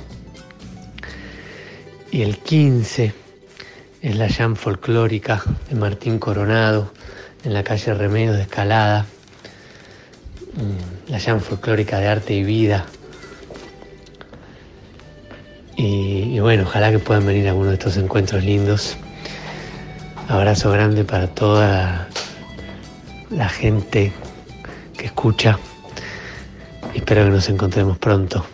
Y el 15 es la jam folclórica de Martín Coronado en la calle Remedios de Escalada. La jam folclórica de arte y vida. Y bueno, ojalá que puedan venir a alguno de estos encuentros lindos. Abrazo grande para toda la gente que escucha. Espero que nos encontremos pronto.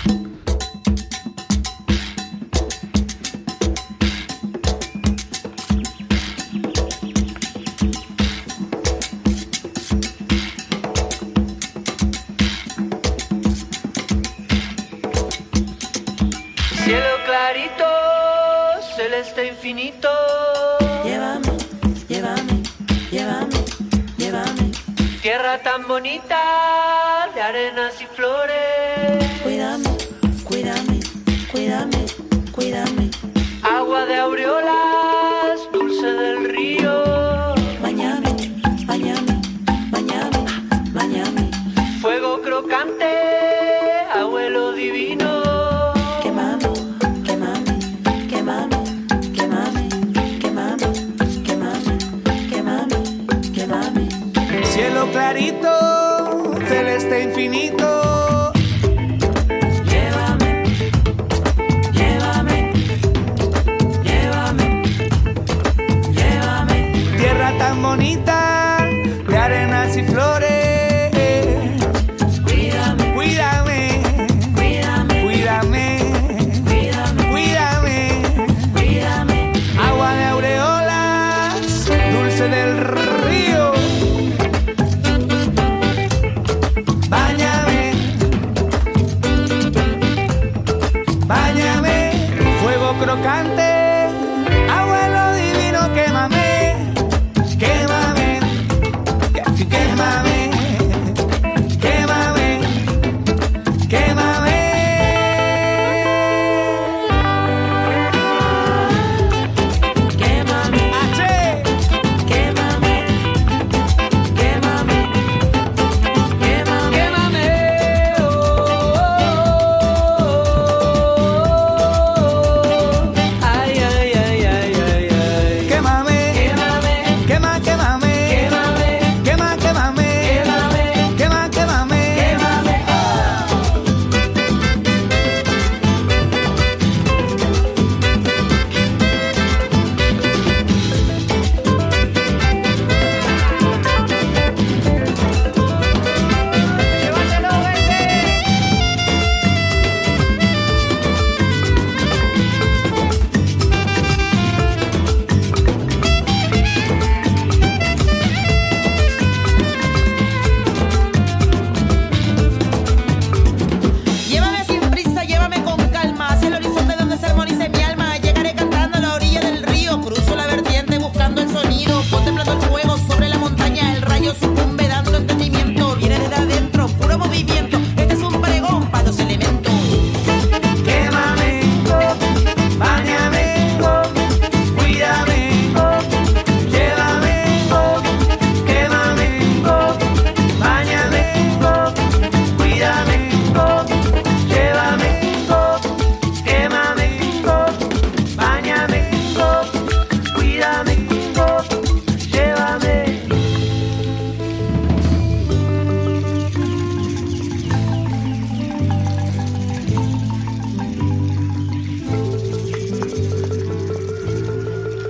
Cielo clarito, celeste infinito. Llévame, llévame, llévame, llévame. Tierra tan bonita de arenas y flores. Cuídame, cuídame, cuídame, cuídame. Agua de aureolas, dulce del río. Bañame, bañame, bañame, bañame. Fuego crocante, abuelo divino. Cielo clarito, celeste infinito. Llévame, llévame, llévame, llévame. Tierra tan bonita de arenas y flores. Cuídame, cuídame, cuídame, cuídame, cuídame, cuídame, cuídame. Agua de aureolas, dulce del río. Crocante, abuelo divino, quémame, quémame, quémame, quémame, quémame. Quémame, H. Quémame, quémame, quémame, quémame.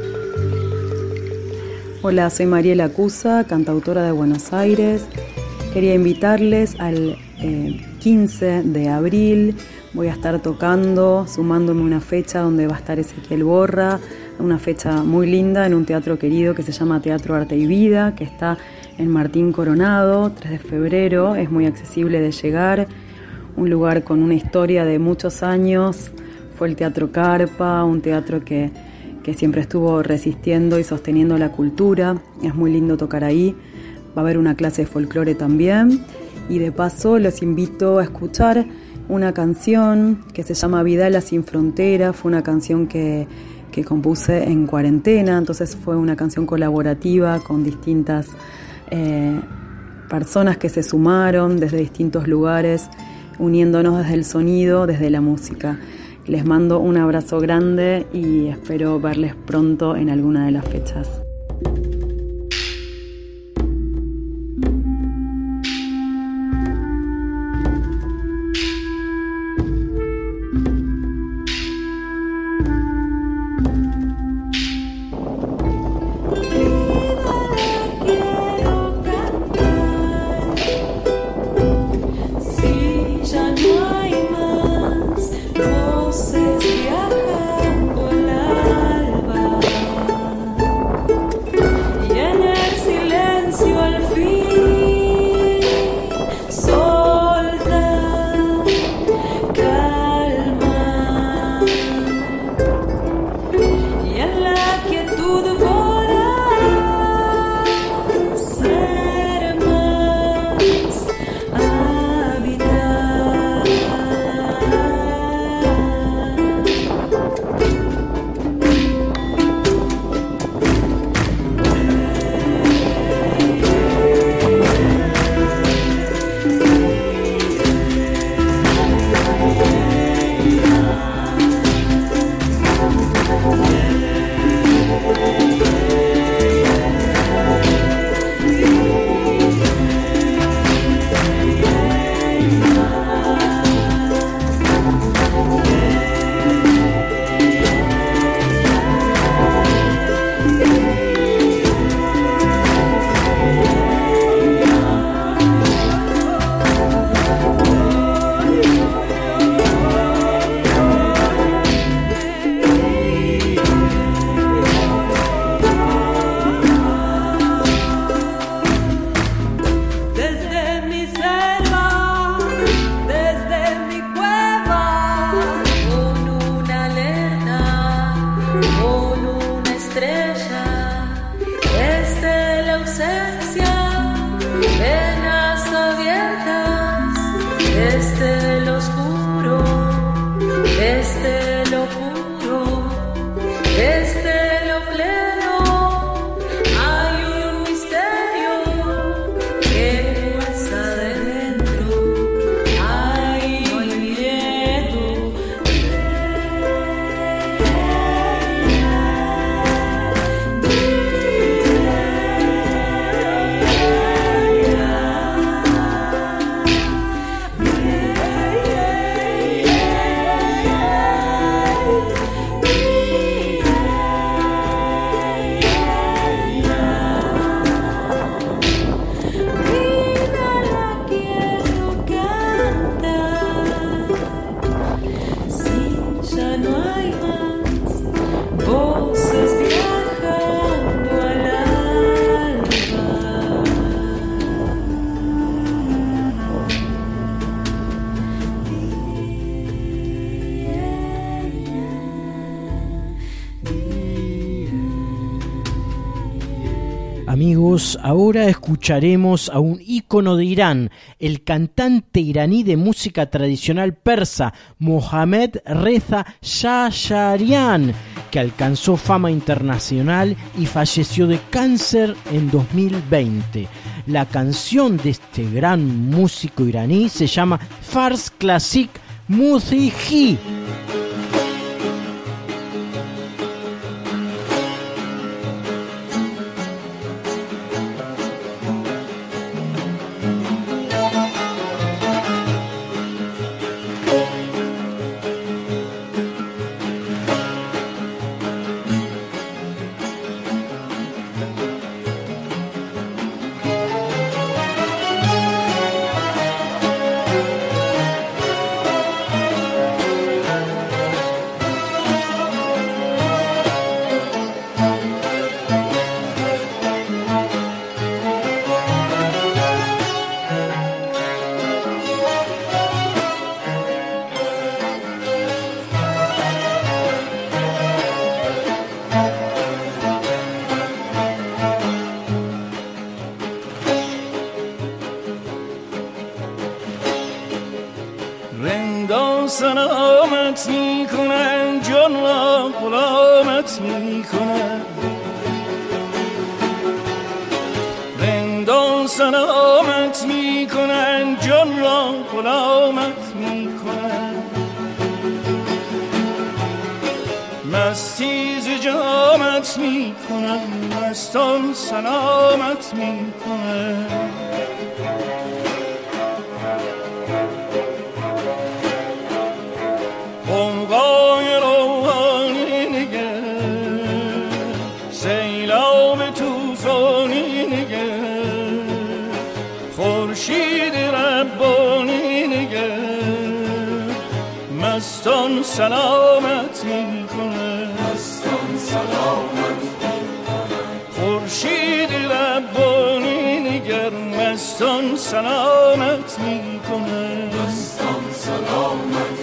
Hola, soy Mariela Cusa, cantautora de Buenos Aires. Quería invitarles al 15 de abril. Voy a estar tocando, sumándome una fecha donde va a estar Ezequiel Borra, una fecha muy linda en un teatro querido que se llama Teatro Arte y Vida, que está en Martín Coronado, 3 de febrero, es muy accesible de llegar, un lugar con una historia de muchos años. Fue el Teatro Carpa, un teatro que siempre estuvo resistiendo y sosteniendo la cultura. Es muy lindo tocar ahí. Va a haber una clase de folclore también. Y de paso los invito a escuchar una canción que se llama Vidala sin frontera. Fue una canción que compuse en cuarentena, entonces fue una canción colaborativa con distintas personas que se sumaron desde distintos lugares, uniéndonos desde el sonido, desde la música. Les mando un abrazo grande y espero verles pronto en alguna de las fechas.
Amigos, ahora escucharemos a un ícono de Irán, el cantante iraní de música tradicional persa, Mohammad Reza Shahsharian, que alcanzó fama internacional y falleció de cáncer en 2020. La canción de este gran músico iraní se llama Fars Classic Musihi.
سلامت می کنن جان را غلامت می کنن رندان سلامت می کنن جان را غلامت می کنن مستی ز جامت می کنن مستان سلامت می کنن قوقای روحانی نگر سیلاب توفانی نگر خورشید ربانی نگر مستان سلامت می کنه مستان سلامت می کنه خورشید ربانی نگر مستان سلامت می کنه مستان سلامت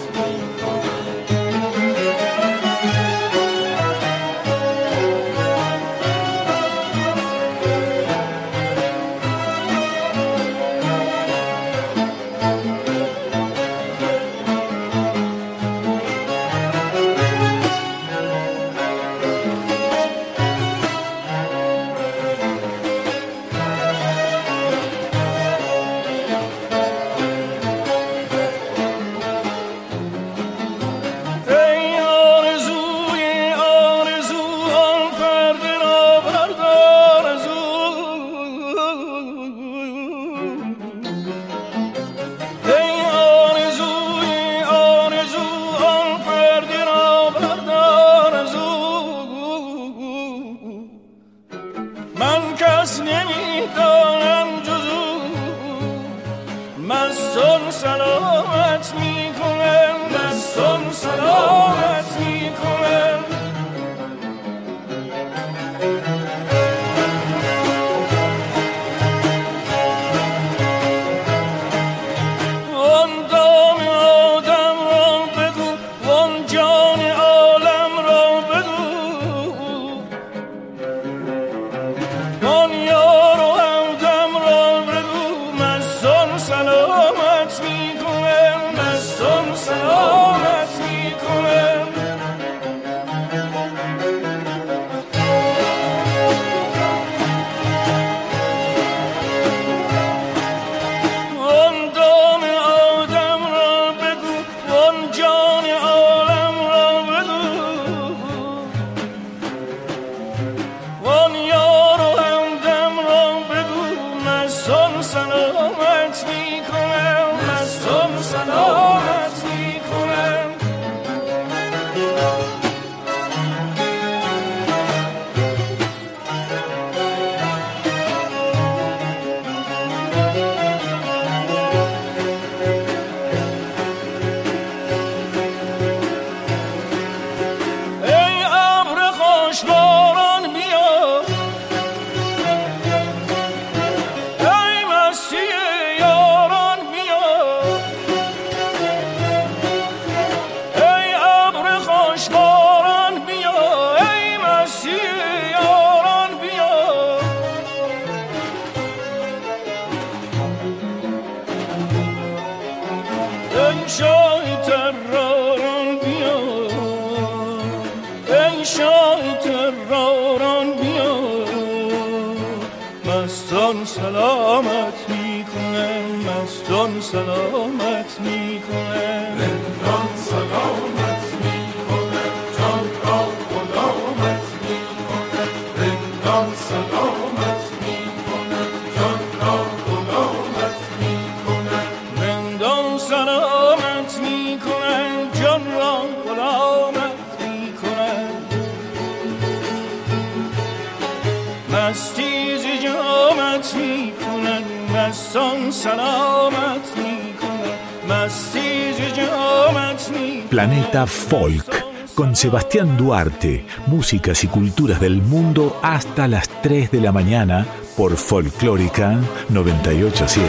Planeta Folk, con Sebastián Duarte, músicas y culturas del mundo hasta las 3 de la mañana por Folclórica 98.7.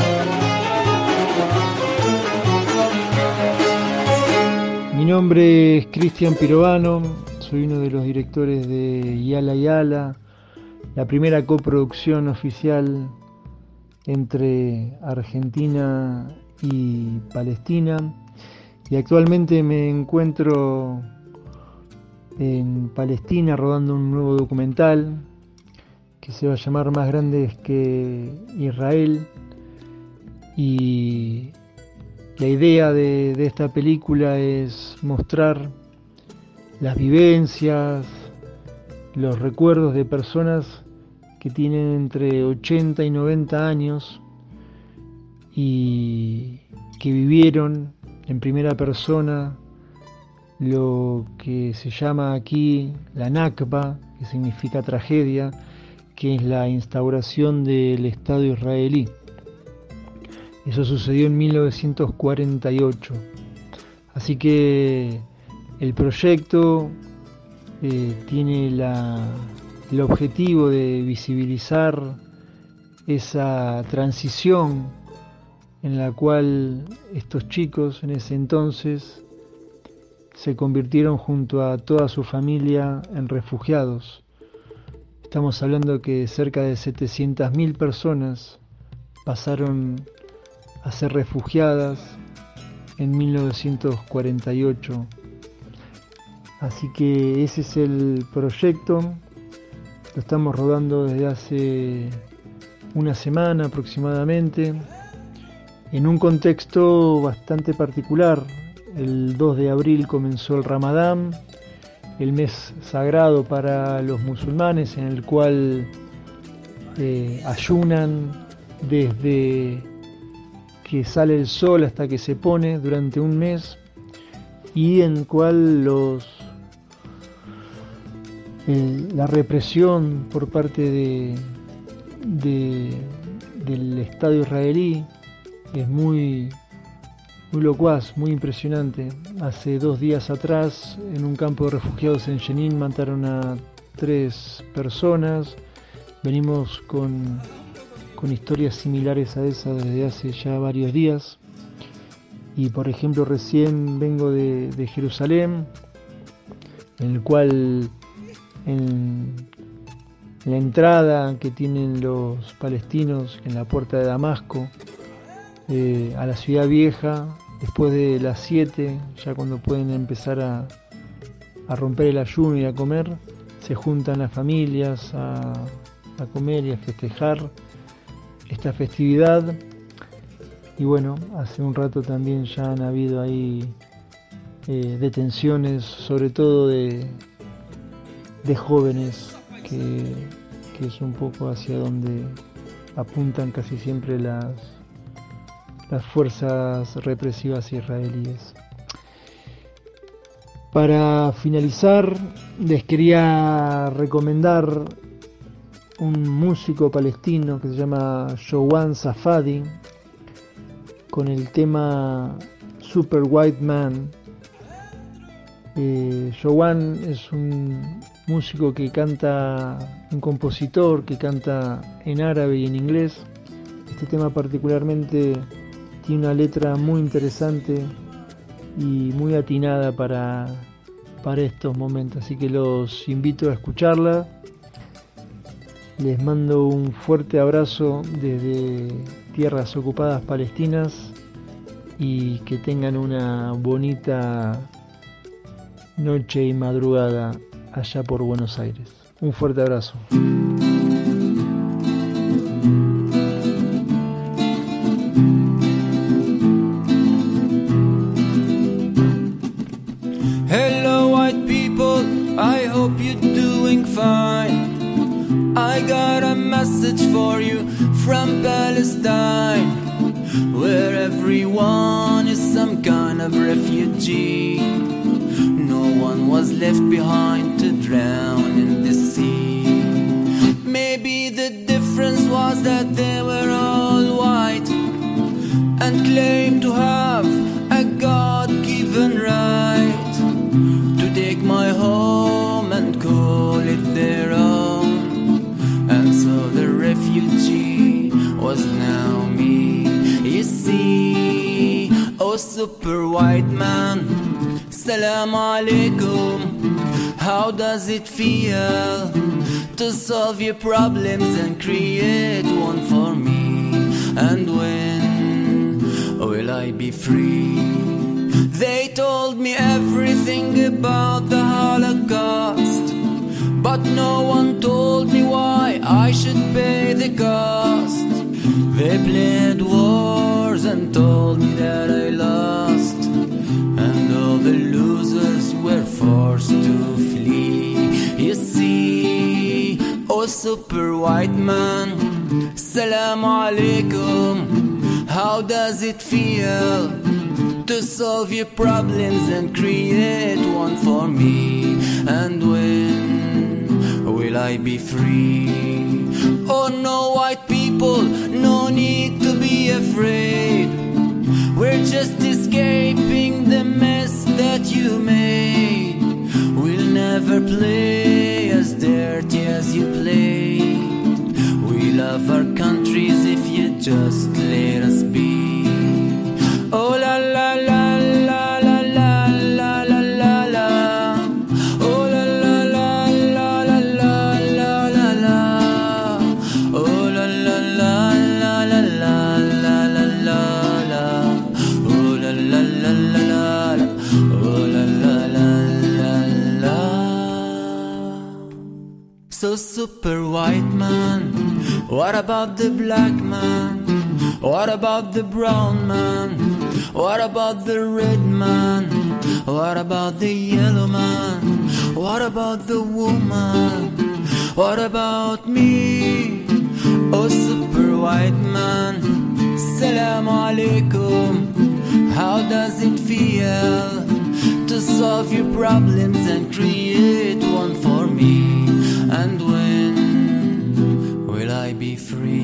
Mi nombre es Cristian Pirovano, soy uno de los directores de Yala Yala, la primera coproducción oficial entre Argentina y Palestina. Y actualmente me encuentro en Palestina rodando un nuevo documental que se va a llamar Más Grandes que Israel, y la idea de esta película es mostrar las vivencias, los recuerdos de personas que tienen entre 80 y 90 años y que vivieron en primera persona lo que se llama aquí la Nakba, que significa tragedia, que es la instauración del Estado israelí. Eso sucedió en 1948. Así que el proyecto tiene el objetivo de visibilizar esa transición en la cual estos chicos en ese entonces se convirtieron junto a toda su familia en refugiados. Estamos hablando que cerca de 700.000 personas pasaron a ser refugiadas en 1948. Así que ese es el proyecto. Lo estamos rodando desde hace una semana aproximadamente, en un contexto bastante particular. El 2 de abril comenzó el Ramadán, el mes sagrado para los musulmanes, en el cual ayunan desde que sale el sol hasta que se pone durante un mes, y en el cual la represión por parte del Estado israelí es muy locuaz, muy impresionante. Hace 2 días atrás, en un campo de refugiados en Jenin, mataron a 3 personas. Venimos con historias similares a esa desde hace ya varios días. Y por ejemplo, recién vengo de Jerusalén, en el cual en la entrada que tienen los palestinos en la puerta de Damasco a la ciudad vieja, después de las 7, ya cuando pueden empezar a romper el ayuno y a comer, se juntan las familias a comer y a festejar esta festividad. Y bueno, hace un rato también ya han habido ahí detenciones, sobre todo de jóvenes, que es un poco hacia donde apuntan casi siempre las fuerzas represivas israelíes. Para finalizar, les quería recomendar un músico palestino que se llama Jowan Safadi, con el tema Super White Man. Jowan es un músico que canta, un compositor que canta en árabe y en inglés. Este tema particularmente tiene una letra muy interesante y muy atinada para estos momentos, así que los invito a escucharla. Les mando un fuerte abrazo desde tierras ocupadas palestinas y que tengan una bonita noche y madrugada allá por Buenos Aires. Un fuerte abrazo.
Hello white people, I hope you're doing fine. I got a message for you from Palestine, where everyone is some kind of refugee. No one was left behind to drown in the sea. Maybe the difference was that they were all white and claimed to have a God-given right to take my home and call it their own. And so the refugee was now me. You see, oh super white man, Salam alaikum. How does it feel to solve your problems and create one for me? And when will I be free? They about the Holocaust, but no one told me why I should pay the cost. They played wars and told me that I lost, and all the losers were forced to flee. You see, oh super white man, Assalamu alaikum. How does it feel to solve your problems and create one for me? And when will I be free? Oh no, white people, no need to be afraid. We're just escaping the mess that you made. We'll never play as dirty as you played. We love our countries if you just let us be. Oh la la la la la la la la la la. Oh la la la la la la la la la. Oh la la la la la la la la la la. Oh la la la la la. Oh la la la la la. So super white man, what about the black man? What about the brown man? What about the red man? What about the yellow man? What about the woman? What about me? Oh super white man, Assalamu alaikum. How does it feel to solve your problems and create one for me? And when will I be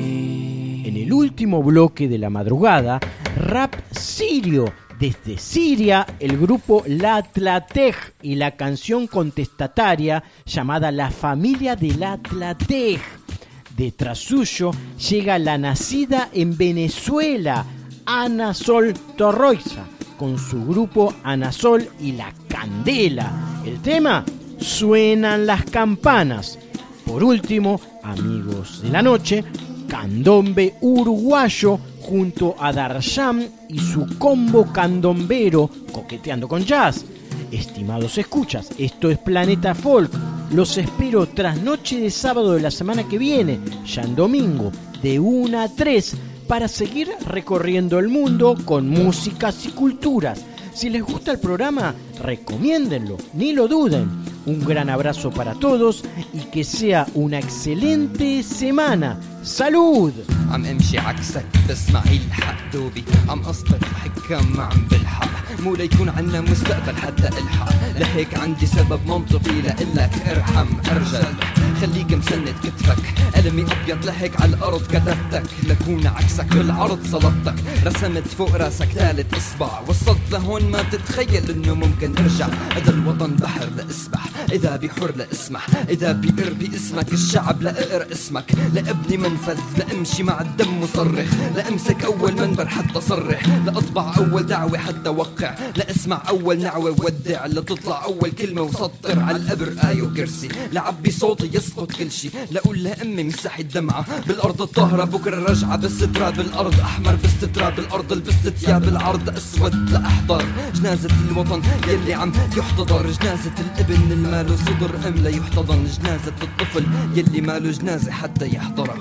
free?
En el último bloque de la madrugada, rap sirio. Desde Siria, el grupo La Tlatej y la canción contestataria llamada La Familia de La Tlatej. Detrás suyo llega la nacida en Venezuela, Ana Sol Torroiza, con su grupo Ana Sol y La Candela. El tema, Suenan las campanas. Por último, amigos de la noche, Candombe uruguayo junto a Darsham y su combo candombero coqueteando con jazz. Estimados escuchas, esto es Planeta Folk. Los espero tras noche de sábado de la semana que viene, ya en domingo, de 1 a 3, para seguir recorriendo el mundo con músicas y culturas. Si les gusta el programa, recomiéndenlo, ni lo duden. Un gran abrazo para todos y que sea una excelente semana. ¡Salud!
عم امشي عكسك تسمعي الحق دوبي عم اصبر حكام ما عم بلحق مو ليكون عنا مستقبل حتى الحق لهيك عندي سبب منطقي لقلك ارحم ارجل خليك مسند كتفك قلمي ابيض لهيك على الارض كتبتك لكون عكسك بالعرض سلطتك رسمت فوق راسك ثالث اصبع وصلت لهون ما تتخيل انه ممكن ارجع اذا الوطن بحر لاسبح اذا بحر لاسمح اذا بقر باسمك الشعب لاقرا اسمك لابني منفذ لامشي مع الدم مصرخ لامسك اول منبر حتى صرح لاطبع اول دعوه حتى وقع لاسمع اول نعوه ودع لتطلع اول كلمه وسطر على القبر ايه وكرسي لعبي صوتي يسقط كل شي لاقول لامي مسحي الدمعه بالارض الطاهره بكره رجعه بس تراب الارض احمر بس تراب الارض لبست ثياب العرض اسود لاحضر جنازه الوطن يلي عم يحتضر جنازه الابن الماله صدر ام لا يحتضن جنازه الطفل يلي ماله جنازه حتى يحضرها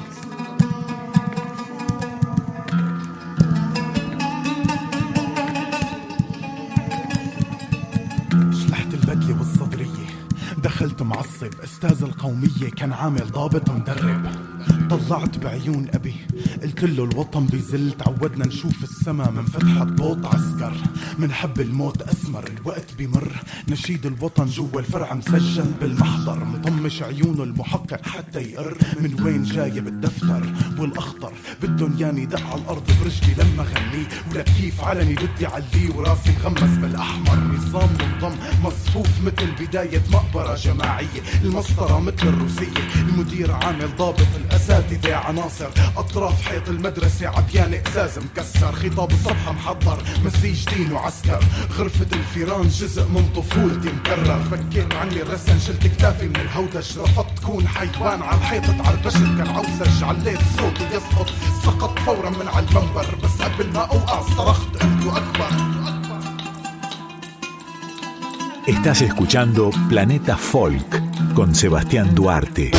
دخلت معصب استاذ القومية كان عامل ضابط مدرب طلعت بعيون أبي قلت له الوطن بيزل تعودنا نشوف السما من فتحة بوط عسكر منحب الموت أسمر الوقت بيمر نشيد الوطن جوا الفرع مسجل بالمحضر مطمش عيونه المحقق حتى يقر من وين جايب الدفتر والأخضر بدن ياني دق على الأرض برجلي لما غني ولا كيف علني بدي علي وراسي مغمس بالأحمر نظام منظم مصفوف مثل بداية مقبرة جماعية المسطرة مثل الروسية المدير عامل ضابط الأساتذة عناصر أطراف حيط المدرسة عبيان إقزاز مكسر خطاب الصفحة محضر مسيج دين وعسكر غرفة الفيران جزء من طفولتي مكرر فكيت عني الرسن شلت كتافي من الهودج رفضت كون حيوان على الحيطة عربشت كان عوسج عليت صوتي يسقط سقط فورا من على المنبر بس قبل ما أوقع صرخت قلت أكبر
Estás escuchando Planeta Folk con Sebastián Duarte.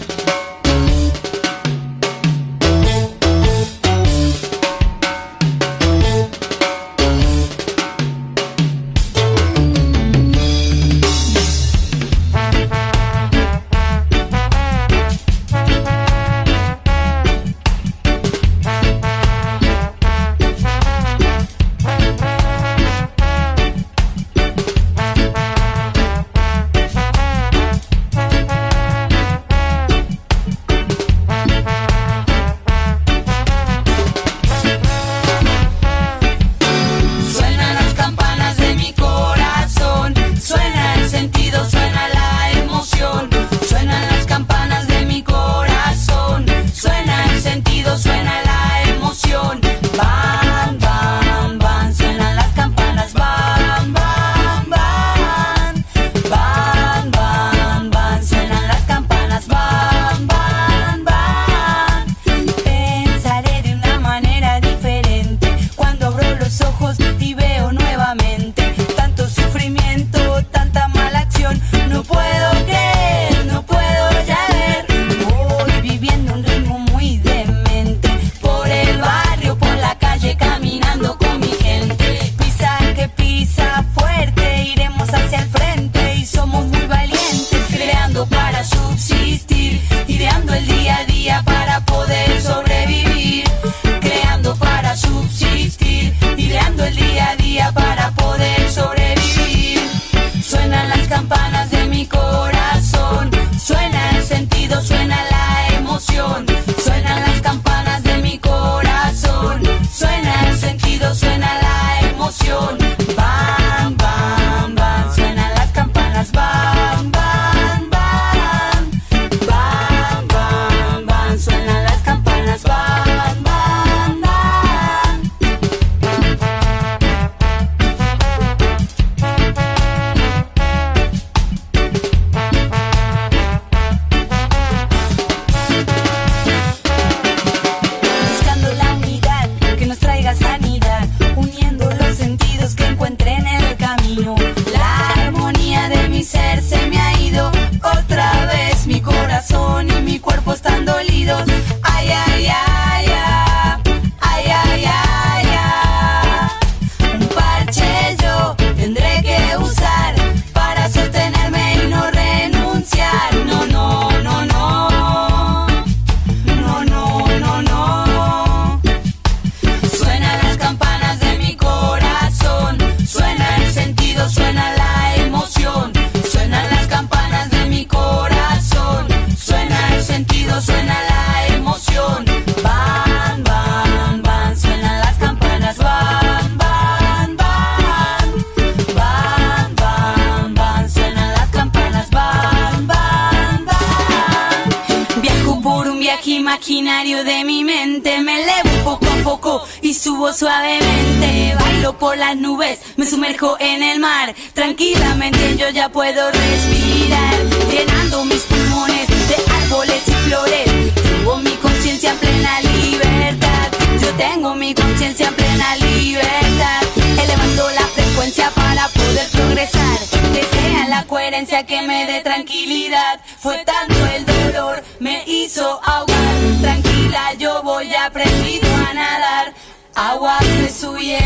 imaginario de mi mente. Me elevo poco a poco y subo suavemente. Bailo por las nubes, me sumerjo en el mar. Tranquilamente yo ya puedo respirar, llenando mis pulmones de árboles y flores. Tengo mi conciencia en plena libertad. Yo tengo mi conciencia en plena libertad. Elevando la frecuencia para poder progresar. Que sea la coherencia que me dé tranquilidad. Fue tanto el dolor, me hizo ahogar. Tranquila, yo voy aprendido a nadar. Agua se suye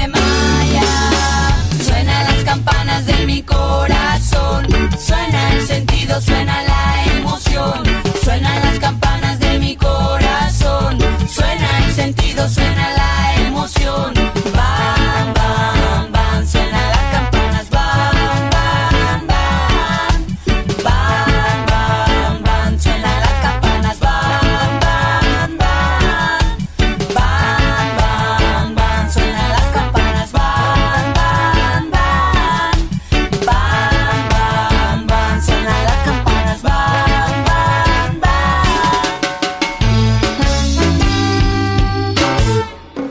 maya. Suenan las campanas de mi corazón. Suena el sentido, suena la emoción. Suenan las campanas de mi corazón. Suena el sentido, suena la emoción. Bam, bam, bam. Suenan las campanas. Bam, bam, bam. Bam, bam, bam. Suenan las campanas. Bam, bam, bam. Bam, bam, bam. Suenan las campanas. Bam, bam, bam. Bam, bam, bam. Suenan las campanas. Bam, bam, bam.